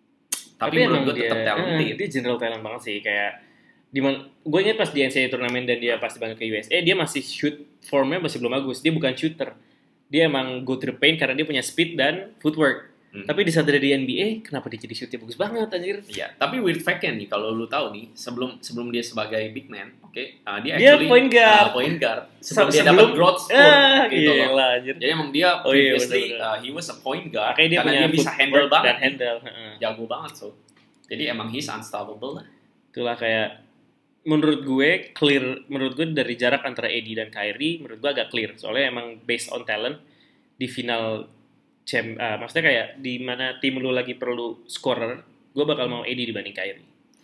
tapi, tapi menurut gue tetap talented. Eh, dia general talent banget sih kayak dimana gue ingat pas di N C A A turnamen dan dia pasti banget ke U S A dia masih shoot formnya masih belum bagus. Dia bukan shooter. dia emang go to the paint karena dia punya speed dan footwork. Hmm. Tapi di saat dia di N B A, kenapa dia jadi shootnya bagus banget anjir? Iya, tapi weird fact-nya nih kalau lu tahu nih, sebelum sebelum dia sebagai big man, oke, okay, uh, dia, dia actually point guard. Uh, point guard. Sebelum, sebelum dia dapat growth spurt ah, gitu iya loh. Lah, anjir. Jadi emang dia oh, iya, previously bener, bener. Uh, he was a point guard dia karena dia bisa handle banget. Dan handle. Jago banget so. Jadi emang he's unstoppable lah. Itulah kayak menurut gue clear, menurut gue dari jarak antara A D dan Kyrie, menurut gue agak clear. Soalnya emang based on talent di final Cem, uh, maksudnya kayak di mana tim lu lagi perlu scorer, gue bakal mau A D dibanding Kyrie.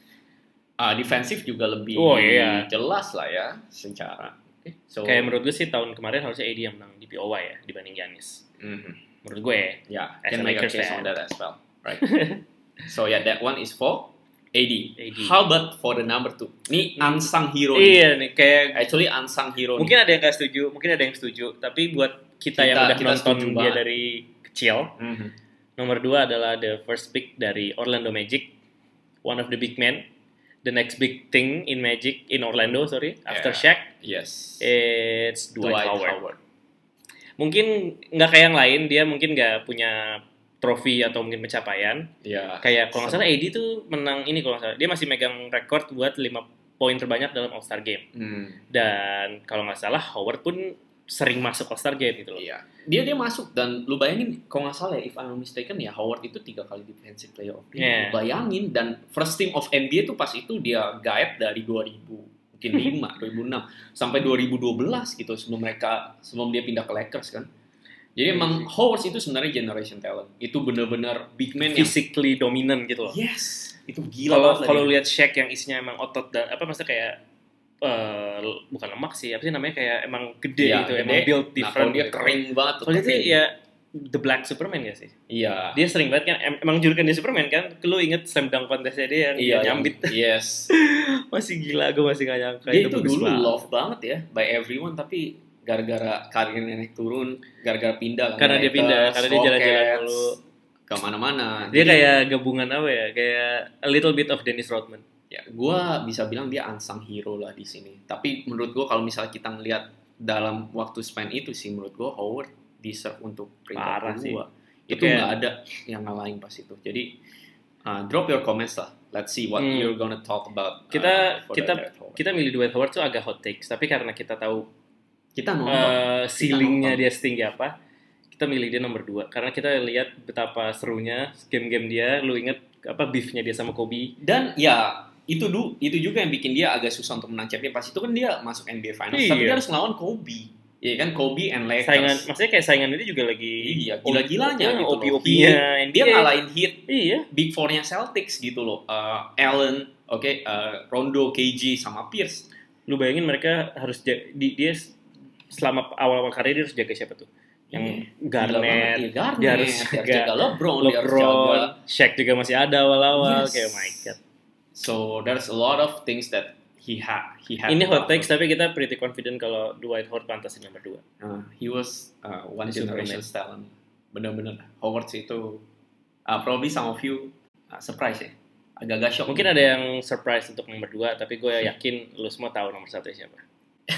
Uh, defensif juga lebih oh, iya. jelas lah ya secara. Okay. So, kayak menurut gue sih tahun kemarin harusnya A D yang menang D P O Y ya dibanding Giannis. Mm-hmm. Menurut gue. Ya, yeah, can make a case on that as well, right? So yeah, that one is for A D. A D. How about for the number two? Ini unsung hero. Iya nih, kayak actually unsung hero. Mungkin nih. ada yang nggak setuju, mungkin ada yang setuju. Tapi buat kita, kita yang udah kita nonton dia banget. Dari kecil, mm-hmm. nomor dua adalah the first pick dari Orlando Magic, one of the big men, the next big thing in Magic in Orlando, sorry, after yeah. Shaq. Yes. It's Dwight, Dwight Howard. Howard. Mungkin nggak kayak yang lain, dia mungkin nggak punya trofi atau mungkin pencapaian. Yeah. Kayak kalau nggak salah A D tuh menang ini kalau nggak salah, dia masih megang rekor buat lima poin terbanyak dalam All Star Game. Hmm. Dan kalau nggak salah Howard pun sering masuk All Star Game gitu loh. Iya. Dia dia masuk dan lu bayangin kalau nggak salah ya, if I'm not mistaken ya Howard itu tiga kali defensive player of the year. Yeah. Lu bayangin dan first team of N B A tuh pas itu dia gaib dari dua ribu mungkin lima, dua ribu enam sampai dua ribu dua belas gitu sebelum mereka sebelum dia pindah ke Lakers kan. Jadi emang Howard itu sebenarnya generation talent. Itu benar-benar big man yang physically dominant gitu loh. Yes. Itu gila banget. Kalau lihat Shaq yang isinya emang otot dan apa maksudnya kayak Uh, bukan lemak sih, apa sih namanya kayak emang gede ya, gitu, gede. Emang build different. Nah, dia gitu. kering banget. Kalau itu ya The Black Superman ya sih. Iya. Dia sering banget kan, em- emang julukan dia Superman kan. Lu inget slam dunk contestnya dia yang iya, dia nyambit. Yes. Masih gila, gue masih gak nyangka. Dia itu, itu dulu banget. Love banget ya by everyone, tapi gara-gara karirnya naik turun, gara-gara pindah. Karena dia pindah, karena dia jalan-jalan dulu kemana-mana. Dia jadi, kayak gabungan apa ya? Kayak a little bit of Dennis Rodman. Ya, gue bisa bilang dia unsung hero lah di sini. Tapi menurut gue kalau misalnya kita ngelihat dalam waktu span itu sih, menurut gue Howard deserve untuk peringkat kedua. Itu nggak okay. ada yang ngalahin pas itu. Jadi uh, drop your comments lah. Let's see what hmm. you're gonna talk about. Kita uh, kita kita milih Dwight Howard tuh agak hot takes. Tapi karena kita tahu kita nonton uh, ceilingnya dia setinggi apa, kita milih dia nomor dua. Karena kita lihat betapa serunya game-game dia. Lu inget apa beefnya dia sama Kobe? Dan ya itu dulu itu juga yang bikin dia agak susah untuk menang champion. Pas itu kan dia masuk N B A Finals, iya. tapi dia harus ngelawan Kobe. Iya kan, Kobe and Lakers. Saingan, maksudnya kayak saingan itu juga lagi iya, gila-gilanya gitu O P O P-nya. Dia ngalahin Heat, iya. Big Four-nya Celtics gitu loh. Uh, Allen, oke, okay, uh, Rondo, K G sama Pierce. Lu bayangin mereka harus jaga, di, dia selama awal-awal karir dia harus jaga siapa tuh? Yang yeah. Garnett, ya, Garnett, dia harus jaga, jaga LeBron, LeBron, dia harus jaga Shaq juga masih ada awal-awal, yes. kayak my god. So there's a lot of things that he had. He had. Ini hot takes tapi kita pretty confident kalau Dwight Howard pantas nomor dua. Uh, he was uh, one generation talent. Benar-benar Howard itu uh, probably some of you uh, surprise ya. Agak-agak shock. Mungkin ada yang surprise untuk nomor dua, tapi gue yakin lu semua tahu nomor satu siapa.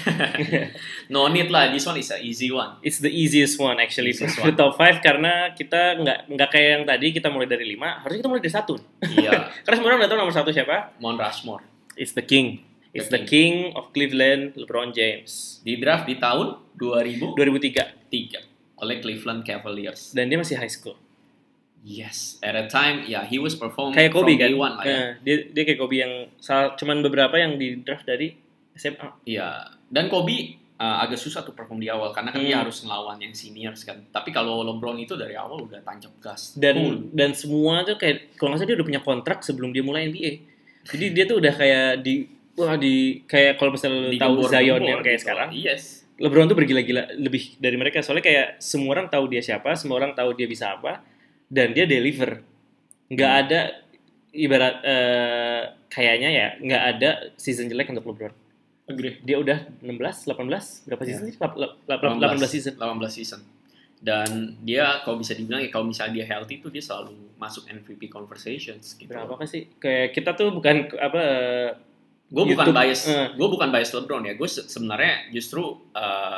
No need lah, this one is an easy one. It's the easiest one actually for the top five karena kita nggak nggak kayak yang tadi kita mulai dari lima, harusnya kita mulai dari satu. Iya. Karena semua orang udah tahu nomor satu siapa? Mount Rushmore. It's the king. It's the, the king. king of Cleveland, LeBron James. Di draft di tahun dua ribu dua ribu tiga tiga oleh Cleveland Cavaliers. Dan dia masih high school. Yes, at a time, yeah, he was performing kayak Kobe kan. One, lah, ya. Nah, dia dia kayak Kobe yang salah, cuman beberapa yang di draft dari S M A. Iya. Dan Kobe uh, agak susah tuh perform di awal karena kan hmm. dia harus ngelawan yang seniors kan. Tapi kalau LeBron itu dari awal udah tancap gas. Dan cool. dan semua tuh kayak kalau nggak salah dia udah punya kontrak sebelum dia mulai N B A. Jadi dia tuh udah kayak di wah di kayak kalau misalnya di tahu Zion gembor, yang kayak gitu. sekarang. Yes. LeBron tuh bergila-gila lebih dari mereka soalnya kayak semua orang tahu dia siapa, semua orang tahu dia bisa apa dan dia deliver. Nggak hmm. ada ibarat uh, kayaknya ya nggak ada season jelek untuk LeBron. Agree. Dia udah enam belas, delapan belas, berapa season sih? Yeah. delapan belas season. delapan belas season. Dan dia kalau bisa dibilang ya kalau misalnya dia healthy tuh dia selalu masuk M V P conversations gitu. Berapa kan sih? Kayak kita tuh bukan apa gue bukan bias, uh. gue bukan bias LeBron ya. Gue se- sebenarnya justru uh,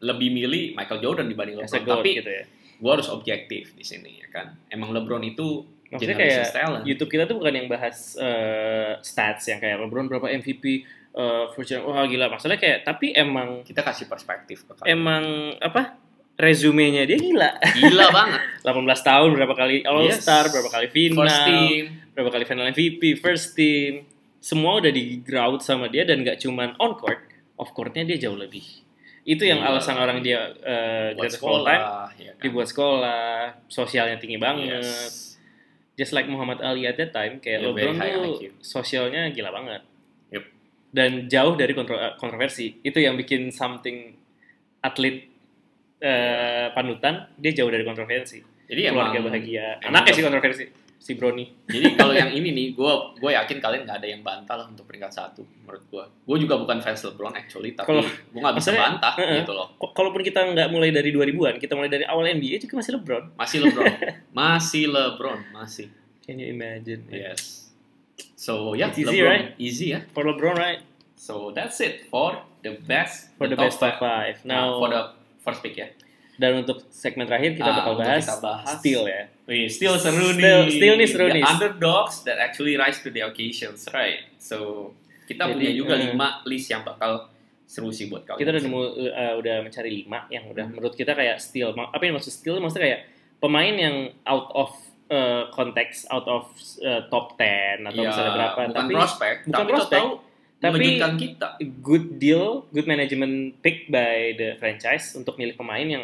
lebih milih Michael Jordan dibanding As a LeBron. goat Tapi gitu ya. gue harus objektif di sini ya kan. Emang LeBron itu Maksudnya generation kayak talent. YouTube kita tuh bukan yang bahas uh, stats yang kayak LeBron berapa M V P, uh, first year, wah gila. Maksudnya kayak, tapi emang Kita kasih perspektif ke kalian. emang apa? Resumenya dia gila. Gila banget. delapan belas tahun, berapa kali All Star, Yes. berapa kali final, First team. berapa kali final M V P, first team. Semua udah di ground sama dia dan gak cuman on court, off courtnya dia jauh lebih. Itu yang Gila. alasan orang dia uh, Buat greatest of all time. sekolah, ya kan? Dibuat sekolah, sosialnya tinggi banget. Yes. Just like Muhammad Ali at that time, kayak Yeah, LeBron very high tuh I Q. sosialnya gila banget. Yep. Dan jauh dari kontro- kontroversi. Itu yang bikin something atlet uh, panutan, dia jauh dari kontroversi. Jadi Keluarga emang bahagia. emang Anaknya the- sih kontroversi, si Brony. Jadi kalau yang ini nih, gue gue yakin kalian nggak ada yang bantah lah untuk peringkat satu menurut gue. Gue juga bukan fans LeBron actually, tapi Kalau- gue nggak bisa maksudnya, bantah uh-uh. gitu loh. K- Kalaupun kita nggak mulai dari dua ribuan, kita mulai dari awal N B A juga masih LeBron. Masih LeBron, masih LeBron, masih. Can you imagine? Yes. So ya, It's easy, LeBron right? easy ya. For LeBron, right? So that's it for the best, For the, best top five. Now Now, for the first pick ya. dan untuk segmen terakhir kita Ah, bakal untuk bahas, kita bahas steal ya. Wih, still seru nih. Still- still nih seru The nih. underdogs that actually rise to the occasions, right? So kita Jadi, punya juga eh, lima list yang bakal seru sih buat kalian. Kita udah nemu, uh, udah mencari lima yang udah menurut kita kayak steal. Ma- Apa yang maksud steal? Maksudnya kayak pemain yang out of uh, konteks, out of uh, top ten atau Ya, misalnya berapa. bukan Tapi prospek, bukan tapi prospek, tahu tapi mengejutkan kita. good deal, good management pick by the franchise untuk milih pemain yang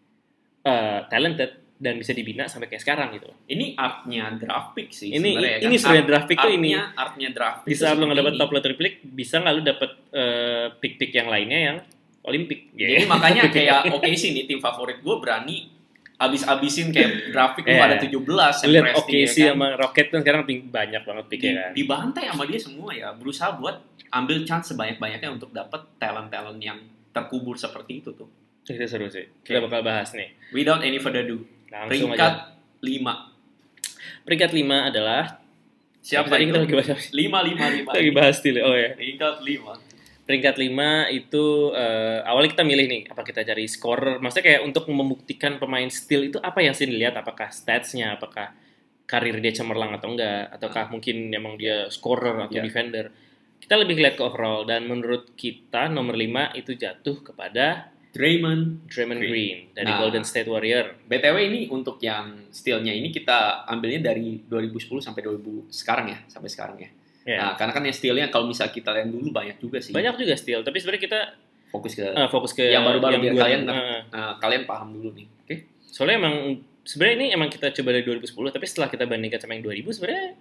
uh, talented dan bisa dibina sampai kayak sekarang gitu. Ini artnya draft pick sih Ini sebenarnya, ini kan? sebenarnya Art- draft pick tuh ini. artnya, artnya draft pick Di saat tuh lo nggak dapat seperti top lottery pick, bisa nggak lo dapat uh, pick-pick yang lainnya yang Olimpik. ini. Jadi makanya kayak oke sih nih tim favorit gue berani abis-abisin kayak draft pick Iya. pada tujuh belas yang Lihat presti, oke ya sih kan? sama Rocket kan sekarang ping- banyak banget Di- picknya kan. dibantai sama dia semua ya, berusaha buat ambil chance sebanyak-banyaknya untuk dapat talent-talent yang terkubur seperti itu tuh. Itu seru sih. Kita Oke. bakal bahas nih. Without any further ado, Langsung peringkat aja. lima. Peringkat lima adalah Siapa tadi itu? kita lagi bahas apa sih? lima, lima, lima. Kita lagi bahas steal. Oh ya. Peringkat lima. Peringkat lima itu eh, awalnya kita milih nih apa kita cari scorer. Maksudnya kayak untuk membuktikan pemain steal itu apa yang sih dilihat? Apakah statsnya? Apakah karir dia cemerlang atau enggak? Ataukah mungkin emang dia scorer atau Ya. defender? Kita lebih lihat ke overall dan menurut kita nomor lima itu jatuh kepada Draymond. Draymond Green. Green dari Nah. Golden State Warrior. B T W ini untuk yang steal-nya ini kita ambilnya dari dua ribu sepuluh sampai dua ribu sekarang ya, sampai sekarang ya. Ya. Nah, karena kan yang steal-nya kalau misal kita lihat dulu banyak juga sih. Banyak juga steal, tapi sebenarnya kita Fokus ke eh, fokus ke yang baru-baru biar dua- kalian eh, nah, kalian paham dulu nih. Oke. soalnya emang sebenarnya ini emang kita coba dari dua ribu sepuluh, tapi setelah kita bandingkan sama yang dua ribu sebenarnya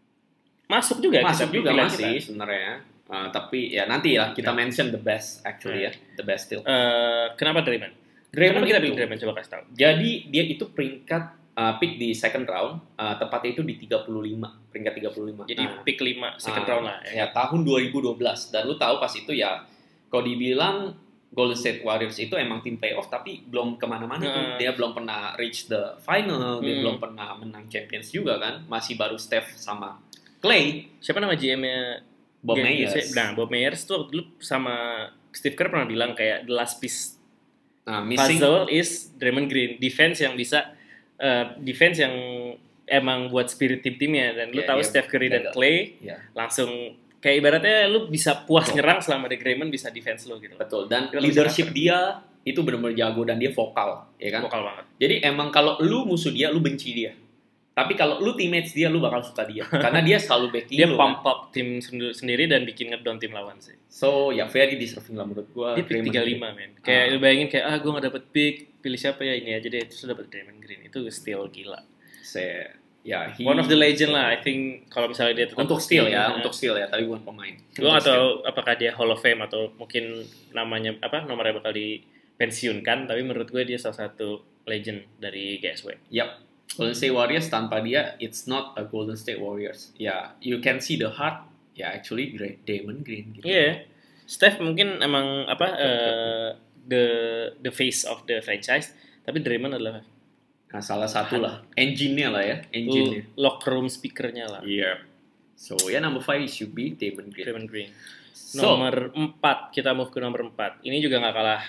masuk juga Masuk kita juga pilihan masih kita. sebenarnya. Uh, tapi ya nanti lah kita Nah. mention the best actually ya, the best steal. Eh, kenapa Draymond? Draymond Kenapa kita itu- pilih Draymond? Coba kasih tahu. Jadi dia itu peringkat uh, pick di second round, uh, tepatnya itu di tiga puluh lima, peringkat tiga puluh lima. Jadi Nah, pick lima second ah, round lah. ya tahun dua ribu dua belas, dan lu tahu pas itu ya kalau dibilang Golden State Warriors itu emang tim playoff tapi belum kemana-mana tuh. Nah. Dia belum pernah reach the final, dia Hmm. belum pernah menang Champions juga kan, masih baru Steph sama Clay. Siapa nama G M-nya? Bob G M Myers. Nah, Bob Myers tuh waktu dulu sama Steve Kerr pernah bilang kayak the last piece Nah, missing puzzle is Draymond Green, defense yang bisa eh, defense yang emang buat spirit tim-timnya, dan lu Iya, tahu iya, Steph Curry dan jaga. Clay ya, langsung kayak ibaratnya lu bisa puas Betul. nyerang selama The Draymond bisa defense lu gitu. betul. Dan Kita leadership dia itu benar-benar jago dan dia vokal, ya kan? Vokal banget. Jadi emang kalau lu musuh dia, lu benci dia. Tapi kalau lu teammates dia, lu bakal suka dia. Karena dia selalu backing Dia lu. pump Kan? up tim sendi- sendiri dan bikin ngedown tim lawan sih. So, ya very deserving lah menurut gua. Dia pick Draymond tiga puluh lima men. Kayak Ah. lu bayangin kayak ah gue gak dapet pick, pilih siapa ya ini aja deh, terus dapet Draymond Green. Itu still gila. Se, ya, he- One of the legend lah, I think kalau misalnya dia tetap Untuk steal ya, Nah, untuk steal ya, tapi bukan pemain. gue Untuk gak tahu apakah dia Hall of Fame atau mungkin namanya apa nomornya bakal dipensiunkan, tapi menurut gue dia salah satu legend dari G S W. steal. Yap. Golden State Warriors tanpa dia, it's not a Golden State Warriors. Ya, you can see the heart. Ya, actually great Draymond Green. Gitu. Iya, Steph mungkin emang apa eh, the the face of the franchise, tapi Draymond adalah Nah, salah satu lah. Engine-nya lah ya, engine-nya. locker room speakernya lah. Iya. So, ya number five should be Draymond Green. Draymond Green. So, Nomor empat, kita move ke nomor empat. Ini juga nggak kalah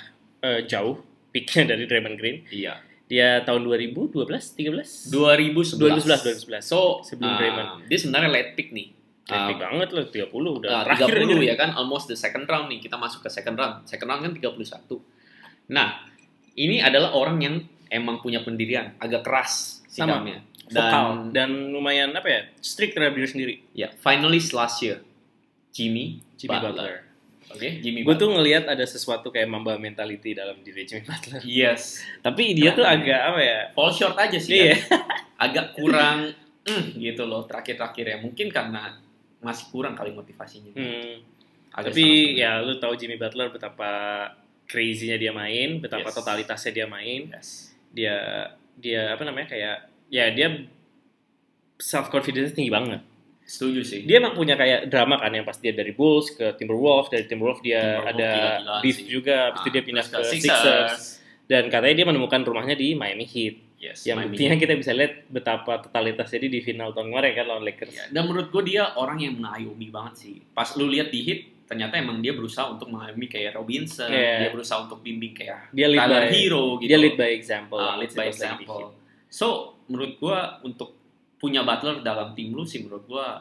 uh, jauh peaknya dari Draymond Green. Iya. Dia tahun dua ribu dua belas, tiga belas? dua ribu sebelas. dua ribu sebelas. So, sebelum uh, Draymond. Dia sebenarnya late pick nih. Late pick uh, banget loh, tiga puluh udah. Uh, terakhir tiga puluh ini. ya kan, almost the second round nih. Kita masuk ke second round. Second round kan tiga puluh satu. Nah, ini adalah orang yang emang punya pendirian, agak keras sikapnya. Dan, dan lumayan apa ya, strict terhadap diri sendiri. Ya, finalist last year, Jimmy, Jimmy Butler. Butler. Oke, okay, Jimmy Gue Butler. tuh ngelihat ada sesuatu kayak Mamba mentality dalam diri Jimmy Butler. Yes. Tapi dia tuh agak apa ya? Fall short aja sih. Iya. Kan? Agak kurang, mm, gitu loh terakhir-terakhir ya. Mungkin karena masih kurang kali motivasinya. Hmm. Agak Tapi ya lu tahu Jimmy Butler betapa crazy-nya dia main, betapa yes. totalitasnya dia main. Yes. Dia dia apa namanya kayak ya dia self confidence tinggi banget. Setuju sih. Dia emang punya kayak drama kan yang pas dia dari Bulls ke Timberwolves, dari Timberwolves dia Timberwolves ada beef sih. juga, habis ah, itu dia pindah ke Sixers. Sixers. Dan katanya dia menemukan rumahnya di Miami Heat. Yes, yang buktinya kita bisa lihat betapa totalitasnya dia di final tahun kemarin kan lawan Lakers. Ya, dan menurut gue dia orang yang mengayomi banget sih. Pas lu lihat di Heat, ternyata emang dia berusaha untuk mengayomi kayak Robinson, yeah. dia berusaha untuk bimbing kayak dia lead Tyler by, Hero gitu. Dia lead by example. Uh, lead by example. So, menurut gue untuk punya Butler dalam tim lu sih menurut gue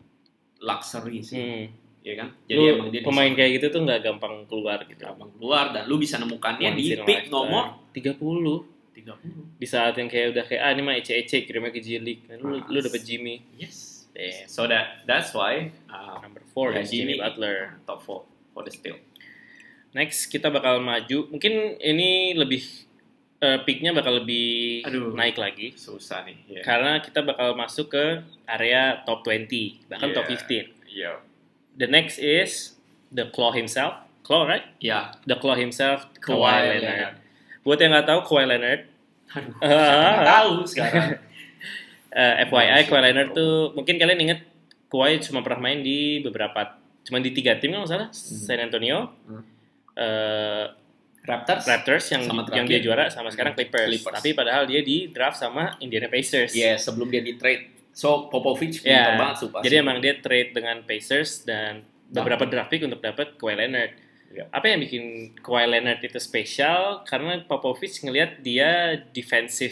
luxury sih. Hmm. Ya kan? Jadi lu, emang dia pemain kayak gitu tuh nggak gampang keluar gitu. Gampang keluar dan lu bisa nemukannya di pick nomor tiga puluh. tiga puluh. Di saat yang kayak udah kayak ah ini mah ece-ece kirimnya ke G League. Kan lu, lu dapet Jimmy. Yes. Damn. So that that's why uh, number four ya, is Jimmy, Jimmy Butler. Top four for the steal. Next kita bakal maju. Mungkin ini lebih uh, picknya bakal lebih Aduh, naik lagi. Susah nih. Yeah. Karena kita bakal masuk ke area top dua puluh bahkan yeah. top fifteen. Yeah. The next is the Claw himself. Claw, right? Ya. Yeah. The Claw himself, Kawhi, Kawhi Leonard. Leonard. Buat yang nggak tahu Kawhi Leonard, aduh, uh, tahu sekarang. uh, F Y I Kawhi Leonard tuh mungkin kalian inget Kawhi cuma pernah main di beberapa, cuma di tiga tim kalau nggak salah, hmm. San Antonio, hmm. uh, Raptors, Raptors yang sama yang dia juara sama sekarang Clippers. Clippers. Tapi padahal dia di draft sama Indiana Pacers. Iya, yeah, sebelum dia di trade. So Popovich pintar yeah. banget sumpah. Jadi emang dia trade dengan Pacers dan beberapa draft pick untuk dapat Kawhi Leonard. Yeah. Apa yang bikin Kawhi Leonard itu spesial? Karena Popovich ngelihat dia defensive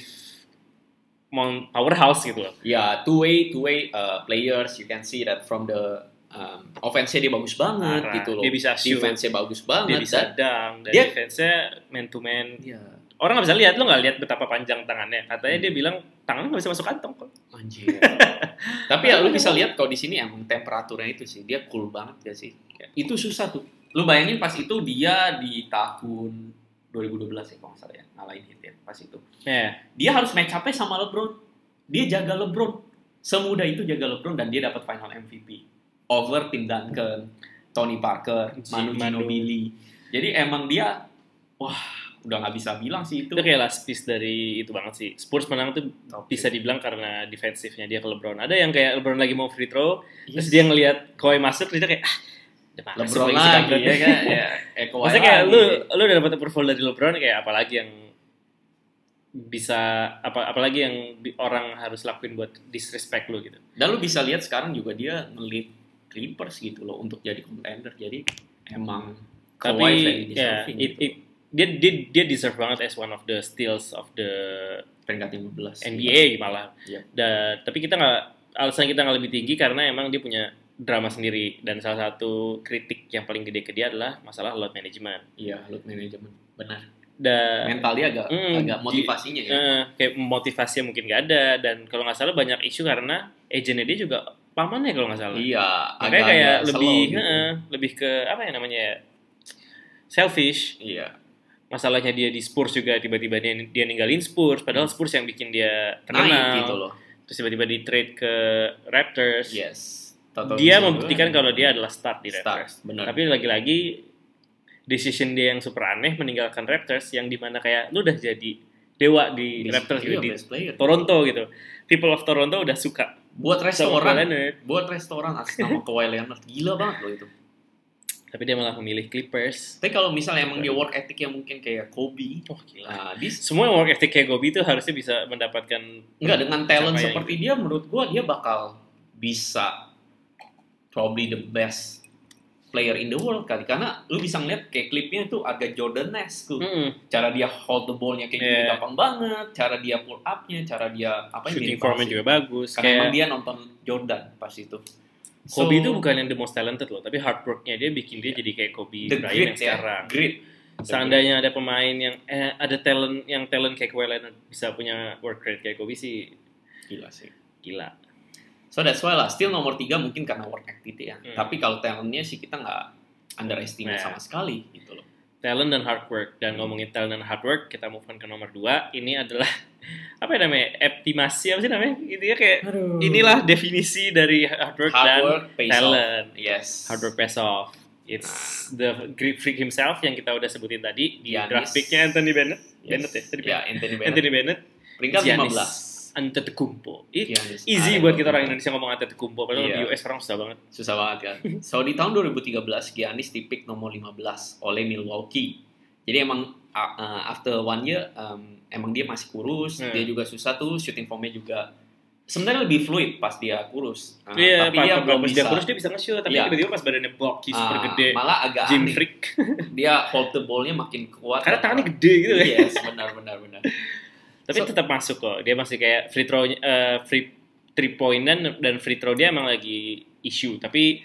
powerhouse gitu loh. Ya, yeah, two way two way uh, players, you can see that from the um, offense-nya dia bagus banget Arah. gitu loh. Dia bisa shoot. Defense-nya bagus banget. Dia bisa dunk. Dan dia, defense-nya man to man. Yeah. Orang nggak bisa lihat, lo nggak lihat betapa panjang tangannya. Katanya hmm. dia bilang tangannya nggak bisa masuk kantong kok. Anjir. Tapi ya lu bisa lihat kalau di sini emang temperaturnya itu sih, dia cool banget ya sih. Ya, itu susah tuh. Lu bayangin pas itu dia di tahun dua ribu dua belas ya kalau nggak salah ya, ngalahin Heat ya pas itu. Yeah. Dia harus match up-nya sama LeBron. Dia jaga LeBron. Semudah itu jaga LeBron dan dia dapat final M V P. Over Tim Duncan, Tony Parker, Manu Ginobili. Jadi emang dia, wah udah nggak bisa bilang sih itu. Itu kayak last piece dari itu banget sih. Spurs menang tuh okay. bisa dibilang karena defensifnya dia ke LeBron. Ada yang kayak LeBron lagi mau free throw, yes. terus dia ngelihat Kawhi masuk, dia kayak ah, LeBron lagi ya kan. Ya, eh, Maksudnya kayak lu lu udah dapat approval dari LeBron, kayak apalagi yang bisa apa apalagi yang orang harus lakuin buat disrespect lu gitu. Dan lu bisa lihat sekarang juga dia nge-lead Clippers gitu loh untuk jadi contender. Jadi emang tapi ya it, it, dia dia dia deserve banget as one of the steals of the peringkat lima belas N B A malah. Yeah. Dan tapi kita nggak, alasan kita nggak lebih tinggi karena emang dia punya drama sendiri, dan salah satu kritik yang paling gede ke dia adalah masalah load management. Iya, load management benar. Dan mental dia agak mm, agak motivasinya di, ya. Uh, kayak motivasinya mungkin nggak ada, dan kalau nggak salah banyak isu karena agentnya dia juga pamannya kalau nggak salah. Iya, agak kayak lebih gitu. uh, lebih ke apa ya namanya ya, selfish. Iya. Masalahnya dia di Spurs juga tiba-tiba dia, dia ninggalin Spurs, padahal Spurs yang bikin dia terkenal. Naik gitu loh. Terus tiba-tiba di trade ke Raptors. Yes. Toto dia membuktikan kalau dia adalah start di Raptors. Benar. Tapi lagi-lagi decision dia yang super aneh meninggalkan Raptors, yang dimana kayak lu udah jadi dewa di Bis, Raptors gitu, di Toronto gitu. People of Toronto udah suka buat restoran, buat restoran atas nama Kawhi Leonard. Gila banget loh itu. Tapi dia malah memilih Clippers. Tapi kalau misalnya emang dia work ethic yang mungkin kayak Kobe, oh gila. Nah, di, semua work ethic kayak Kobe itu harusnya bisa mendapatkan. Enggak, dengan talent seperti dia, menurut gua dia bakal bisa probably the best player in the world kali, karena lu bisa ngeliat kayak klipnya tuh agak Jordan-esque tuh. Mm-hmm. Cara dia hold the ball-nya kayak yeah. gitu gampang banget, cara dia pull up-nya, cara dia apa shooting formnya juga bagus. Karena kayak... emang dia nonton Jordan pas itu. Kobe so, itu bukan yang the most talented loh, tapi hard work-nya dia bikin dia yeah. jadi kayak Kobe Bryant yang sekarang. Ya, grit. Seandainya ada pemain yang eh, ada talent yang talent kayak Kawhi Leonard bisa punya work rate kayak Kobe sih gila sih. Gila. So that's why lah, still nomor tiga mungkin karena work activity ya. Hmm. Tapi kalau talentnya sih kita nggak underestimate nah. sama sekali gitu loh. Talent dan hard work. Dan hmm. ngomongin talent dan hard work, kita move on ke nomor dua. Ini adalah apa ya namanya? Optimasi apa sih namanya? Gitu ya kayak Aduh. Inilah definisi dari hard work hard dan work, talent. Off. Yes. Hard work pays off. It's nah. the Greek freak himself yang kita udah sebutin tadi di Giannis. draft pick-nya Anthony Bennett. Yes. Bennett ya? Tadi ya, Anthony Bennett. Anthony Bennett. Peringkat lima belas. Antetokounmpo. Giannis. Easy buat kita orang Indonesia ngomong Antetokounmpo, padahal yeah. di U S orang susah banget. Susah banget kan. So di tahun dua ribu tiga belas Giannis di-pick nomor lima belas oleh Milwaukee. Jadi emang uh, after one year um, emang dia masih kurus, hmm. dia juga susah tuh, shooting formnya juga sebenarnya lebih fluid pas dia kurus. Uh, yeah, tapi dia belum bisa. Dia kurus dia bisa nge-shoot, tapi yeah. tiba-tiba pas badannya bulky uh, super gede. Malah agak gym aneh. freak. Dia hold the ball-nya makin kuat. Karena tangannya gede gitu ya. Yes, benar benar benar. Tapi so, tetap masuk kok. Dia masih kayak free throw uh, free three point dan dan free throw dia emang lagi issue. Tapi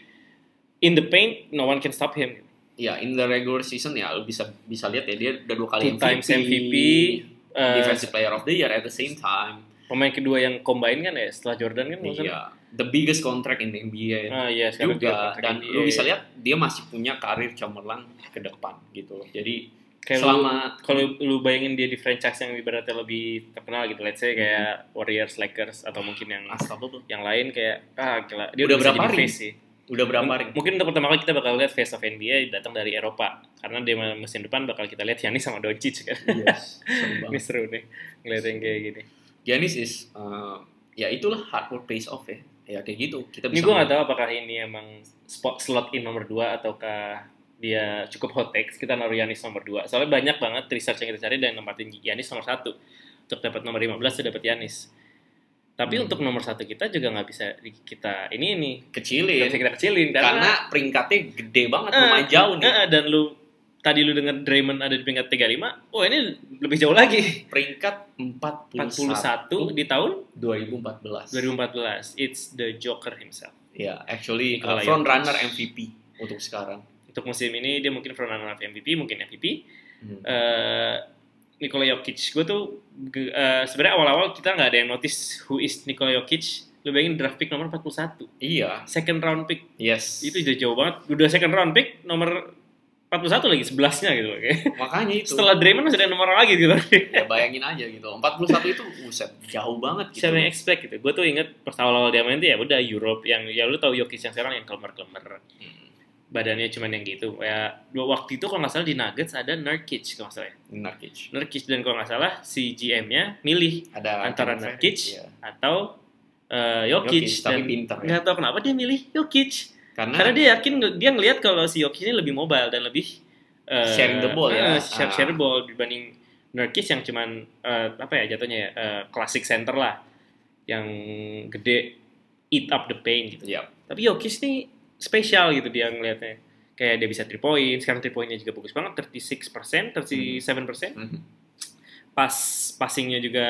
in the paint no one can stop him. Ya, in the regular season ya lu bisa bisa lihat ya dia udah dua kali Two M V P, times M V P, uh, defensive player of the year at the same time. Pemain kedua yang combine kan ya setelah Jordan kan maksudnya. Iya, the biggest contract in the N B A. Ah, iya, juga dan N B A. Lu bisa lihat dia masih punya karir cemerlang ke depan gitu loh. Jadi kayak selama kalau lu bayangin dia di franchise yang ibaratnya lebih terkenal gitu, let's say kayak hmm. Warriors, Lakers atau mungkin yang Unstoppable. yang lain kayak ah gila dia udah, udah berapa jadi face sih. Udah berapa M- ring? Mungkin untuk pertama kali kita bakal lihat face of N B A datang dari Eropa karena di musim depan bakal kita lihat Giannis sama Doncic kan. Yes. Ini seru nih ngeliat yang kayak gini. Giannis is uh, ya itulah hard work pays off ya. Ya kayak gitu. Kita bisa. Ini gue nggak tahu apakah ini emang spot slot in nomor dua ataukah dia cukup hot takes. Kita naruh Giannis nomor dua. Soalnya banyak banget research yang kita cari dan nempatin Giannis nomor satu. Untuk dapat nomor lima belas sudah dapat Giannis. Tapi hmm. untuk nomor satu kita juga nggak bisa kita ini ini kecilin. Bisa kita kecilin karena, karena peringkatnya gede banget, uh, lumayan jauh nih. Uh, dan lu tadi lu dengar Draymond ada di peringkat tiga puluh lima. Oh ini lebih jauh lagi. Peringkat empat puluh satu, empat puluh satu di tahun dua ribu empat belas. dua ribu empat belas. It's the Joker himself. Ya, yeah, actually uh, front runner M V P untuk sekarang. Untuk musim ini dia mungkin front runner M V P, mungkin M V P. Hmm. Uh, Nikola Jokic, gue tuh uh, sebenarnya awal-awal kita nggak ada yang notice who is Nikola Jokic. Lu bayangin draft pick nomor empat puluh satu. Iya. Second round pick. Yes. Itu udah jauh banget. Udah second round pick nomor empat puluh satu lagi, sebelasnya gitu. Makanya itu. Setelah Draymond masih ada nomor lagi gitu. Ya bayangin aja gitu. empat puluh satu itu buset, jauh banget gitu. Siapa yang expect gitu. Gue tuh inget pas awal-awal dia main tuh ya udah Europe yang ya lu tahu Jokic yang sekarang yang klemer-klemer. Hmm. Badannya cuman yang gitu. Ya waktu itu kalau nggak salah di Nuggets ada Nurkic kalau nggak salah ya. Nurkic. Nurkic dan kalau nggak salah si G M-nya milih ada antara Nurkic ya. atau uh, Jokic. Jokic tapi pinter ya. Nggak tahu kenapa dia milih Jokic. Karena, Karena dia yakin dia ngelihat kalau si Jokic ini lebih mobile dan lebih uh, sharing the ball ya. Uh, share, share the ball dibanding Nurkic yang cuman uh, apa ya jatuhnya ya uh, classic center lah yang gede eat up the paint gitu. Yep. Tapi Jokic nih spesial gitu dia ngelihatnya. Kayak dia bisa three point, sekarang three point-nya juga bagus banget, thirty-six percent, thirty-seven percent. Mm-hmm. Pas passing-nya juga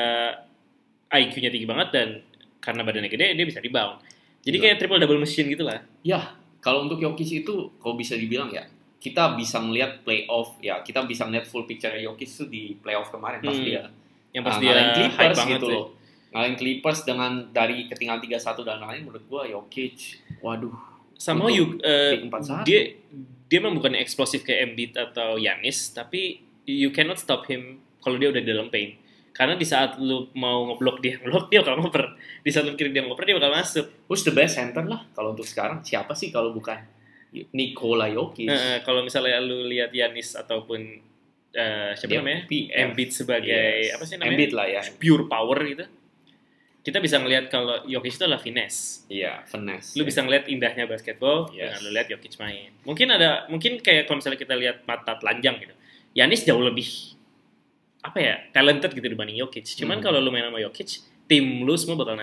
I Q-nya tinggi banget dan karena badannya gede dia bisa rebound. Jadi yeah. kayak triple double machine gitu lah. Ya, kalau untuk Jokic itu kalau bisa dibilang ya, kita bisa melihat playoff ya, kita bisa melihat full picture Jokic itu di playoff kemarin pas hmm. dia yang pas uh, dia ngalahin Clippers gitu sih. loh. Ngalahin Clippers dengan dari ketinggalan tiga satu dan lain menurut gua Jokic waduh sama you uh, dia dia memang bukan eksplosif kayak Embiid atau Giannis, tapi you cannot stop him kalau dia udah di dalam paint. Karena di saat lu mau ngeblok dia, ngeblok dia bakal ngoper. Di saat lu kiri dia ngoper dia bakal masuk. Who's the best center lah kalau untuk sekarang? Siapa sih kalau bukan Nikola Jokic? Nah, kalau misalnya lu lihat Giannis ataupun uh, siapa dia namanya? P F. Embiid sebagai yes. apa sih namanya? Embiid lah ya. Pure power gitu. Kita bisa ngelihat kalau Jokic itu adalah finesse. Iya, finesse. Lu ya. bisa ngelihat indahnya basketball yes. dengan lu lihat Jokic main. Mungkin ada, mungkin kayak kalau misalnya kita lihat mata telanjang gitu. Giannis jauh lebih apa ya talented gitu dibanding Jokic. Cuman hmm. kalau lu main sama Jokic, tim lu semua bakal naik.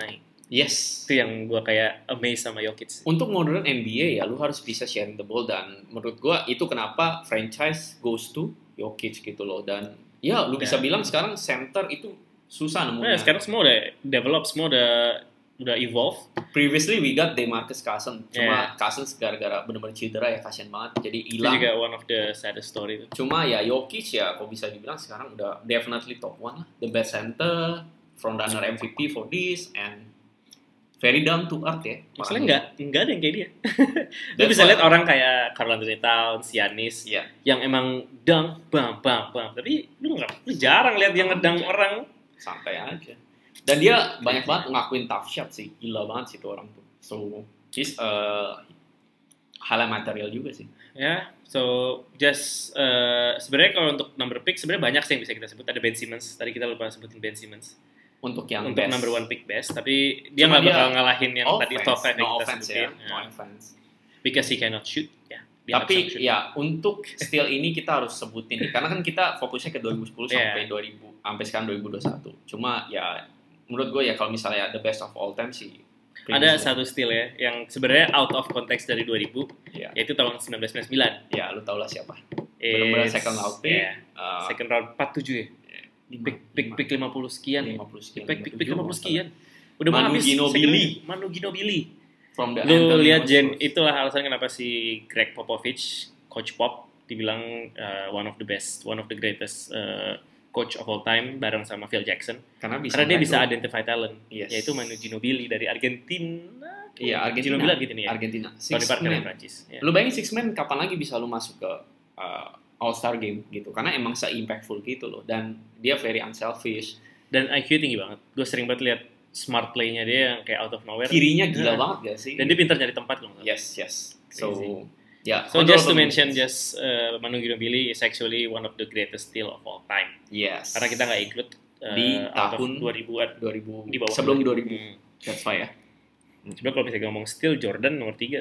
Yes. Itu yang gue kayak amazed sama Jokic. Untuk modern N B A ya, lu harus bisa sharing the ball, dan menurut gue itu kenapa franchise goes to Jokic gitu loh. Dan ya, lu bisa Dan, bilang sekarang center itu susah nemunya. Nah, sekarang semua udah develop, semua udah udah evolve. Previously we got DeMarcus Cousins, cuma Yeah. Cousins gara-gara benar-benar cedera ya, kasian banget, jadi Itu hilang. juga one of the saddest story itu. Cuma ya Jokic ya, kok bisa dibilang sekarang udah definitely top one lah, the best center, frontrunner M V P for this, and very down to earth ya. Masalahnya nggak nggak ada yang kayak dia. Lu That's bisa why- lihat orang kayak Karl Anthony Towns, Giannis, Iya. yang emang dunk, bam, bam, bam. Tapi lu nggak, lu jarang lihat yang ngedang orang. Santai aja. Dan dia banyak banget ngakuin tough shot sih, gila banget sih tuh orang tuh. So he's uh, highlight material juga sih. Ya, so just uh, sebenarnya kalau untuk number pick sebenarnya banyak sih yang bisa kita sebut. Ada Ben Simmons, tadi kita lupa sebutin Ben Simmons. Untuk yang Untuk best. number one pick best, tapi dia Cuma nggak dia bakal ngalahin yang tadi Offense, top five yang no kita offense sebutin. ya, Ya. no offense. Because he cannot shoot. Ya, dia nggak Tapi bisa shoot. ya untuk steal ini kita harus sebutin nih, karena kan kita fokusnya ke dua ribu sepuluh Yeah. sampai dua ribu sampai sekarang dua ribu dua puluh satu. Cuma ya menurut gue ya kalau misalnya the best of all time sih. Ada Prince satu steal ya, yang sebenarnya out of context dari dua ribu, ya. yaitu tahun sembilan belas sembilan puluh sembilan. Ya, lu tau lah siapa. Benar-benar It's- second round pick. yeah, uh, second round empat puluh tujuh ya. lima- Pick pick lima- pick lima puluh sekian ya. lima puluh sekian. Pick pick pick lima lima puluh puluh sekian. Udah mau Manu habis Ginobili. second- Manu Ginobili. From the Lu Anthony lihat Jen, Spurs. itulah alasan kenapa si Greg Popovich, Coach Pop, dibilang uh, one of the best, one of the greatest uh, coach of all time bareng sama Phil Jackson. Karena bisa Karena dia bisa ngehandle- identify talent, Yes. yaitu Manu Ginobili dari Argentina. Iya, Argentina. Ginobili Argentina ya. Argentina. Tony Six Parker man. yang Prancis. Ya. Lu bayangin six man kapan lagi bisa lu masuk ke uh, All-Star game gitu. Karena emang se-impactful gitu loh, dan dia very unselfish. Dan I Q tinggi banget. Gue sering banget lihat smart play-nya dia yang kayak out of nowhere. Kirinya gila Nah. banget gak sih? Dan dia pintar nyari tempat kalau nggak salah. Yes, yes. So, Crazy. ya. So just to honorable mention, mentions. just uh, Manu Ginobili is actually one of the greatest steal of all time. Yes. Karena kita nggak include uh, Di out of tahun dua ribuan. dua ribu Di bawah sebelum dua ribu. Hmm. That's why ya. Sebenarnya kalau misalnya ngomong steal, Jordan nomor tiga.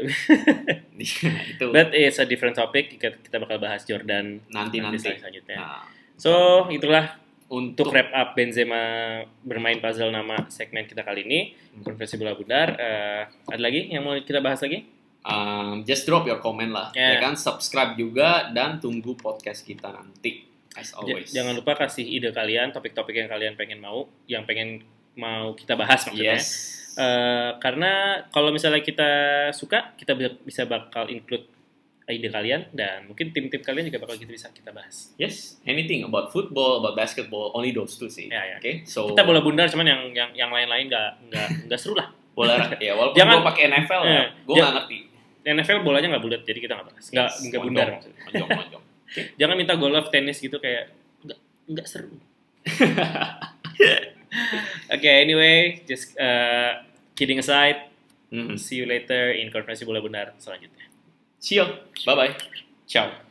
Itu But it's a different topic. Kita, kita bakal bahas Jordan nanti-nanti. slide selanjutnya. Nah, So itulah untuk untuk wrap up Benzema bermain puzzle nama segmen kita kali ini. Konferensi bola bundar. Uh, ada lagi yang mau kita bahas lagi? um, just drop your comment lah, Yeah. ya kan, subscribe juga dan tunggu podcast kita nanti. As J- always. Jangan lupa kasih ide kalian, topik-topik yang kalian pengen mau, yang pengen mau kita bahas maksudnya. Yes. Eh, karena kalau misalnya kita suka, kita bisa, bisa bakal include ide kalian, dan mungkin tim-tim kalian juga bakal gitu bisa kita bahas. Yes, anything about football, about basketball, only those two sih. Ya, ya. Oke, so Kita bola bundar, cuman yang yang yang lain-lain nggak nggak nggak seru lah. bola ya walaupun Jangan- gue pakai N F L ya, Eh, gue ja- nggak ngerti. N F L bolanya nggak bulat, jadi kita nggak bahas. Nggak Yes, nggak monjong, bundar maksudnya. monjong, monjong. Jangan minta golf, tenis gitu kayak nggak nggak seru. Oke, anyway, just uh, kidding aside, Mhm. see you later in konferensi bola bundar selanjutnya. See you, bye bye, ciao.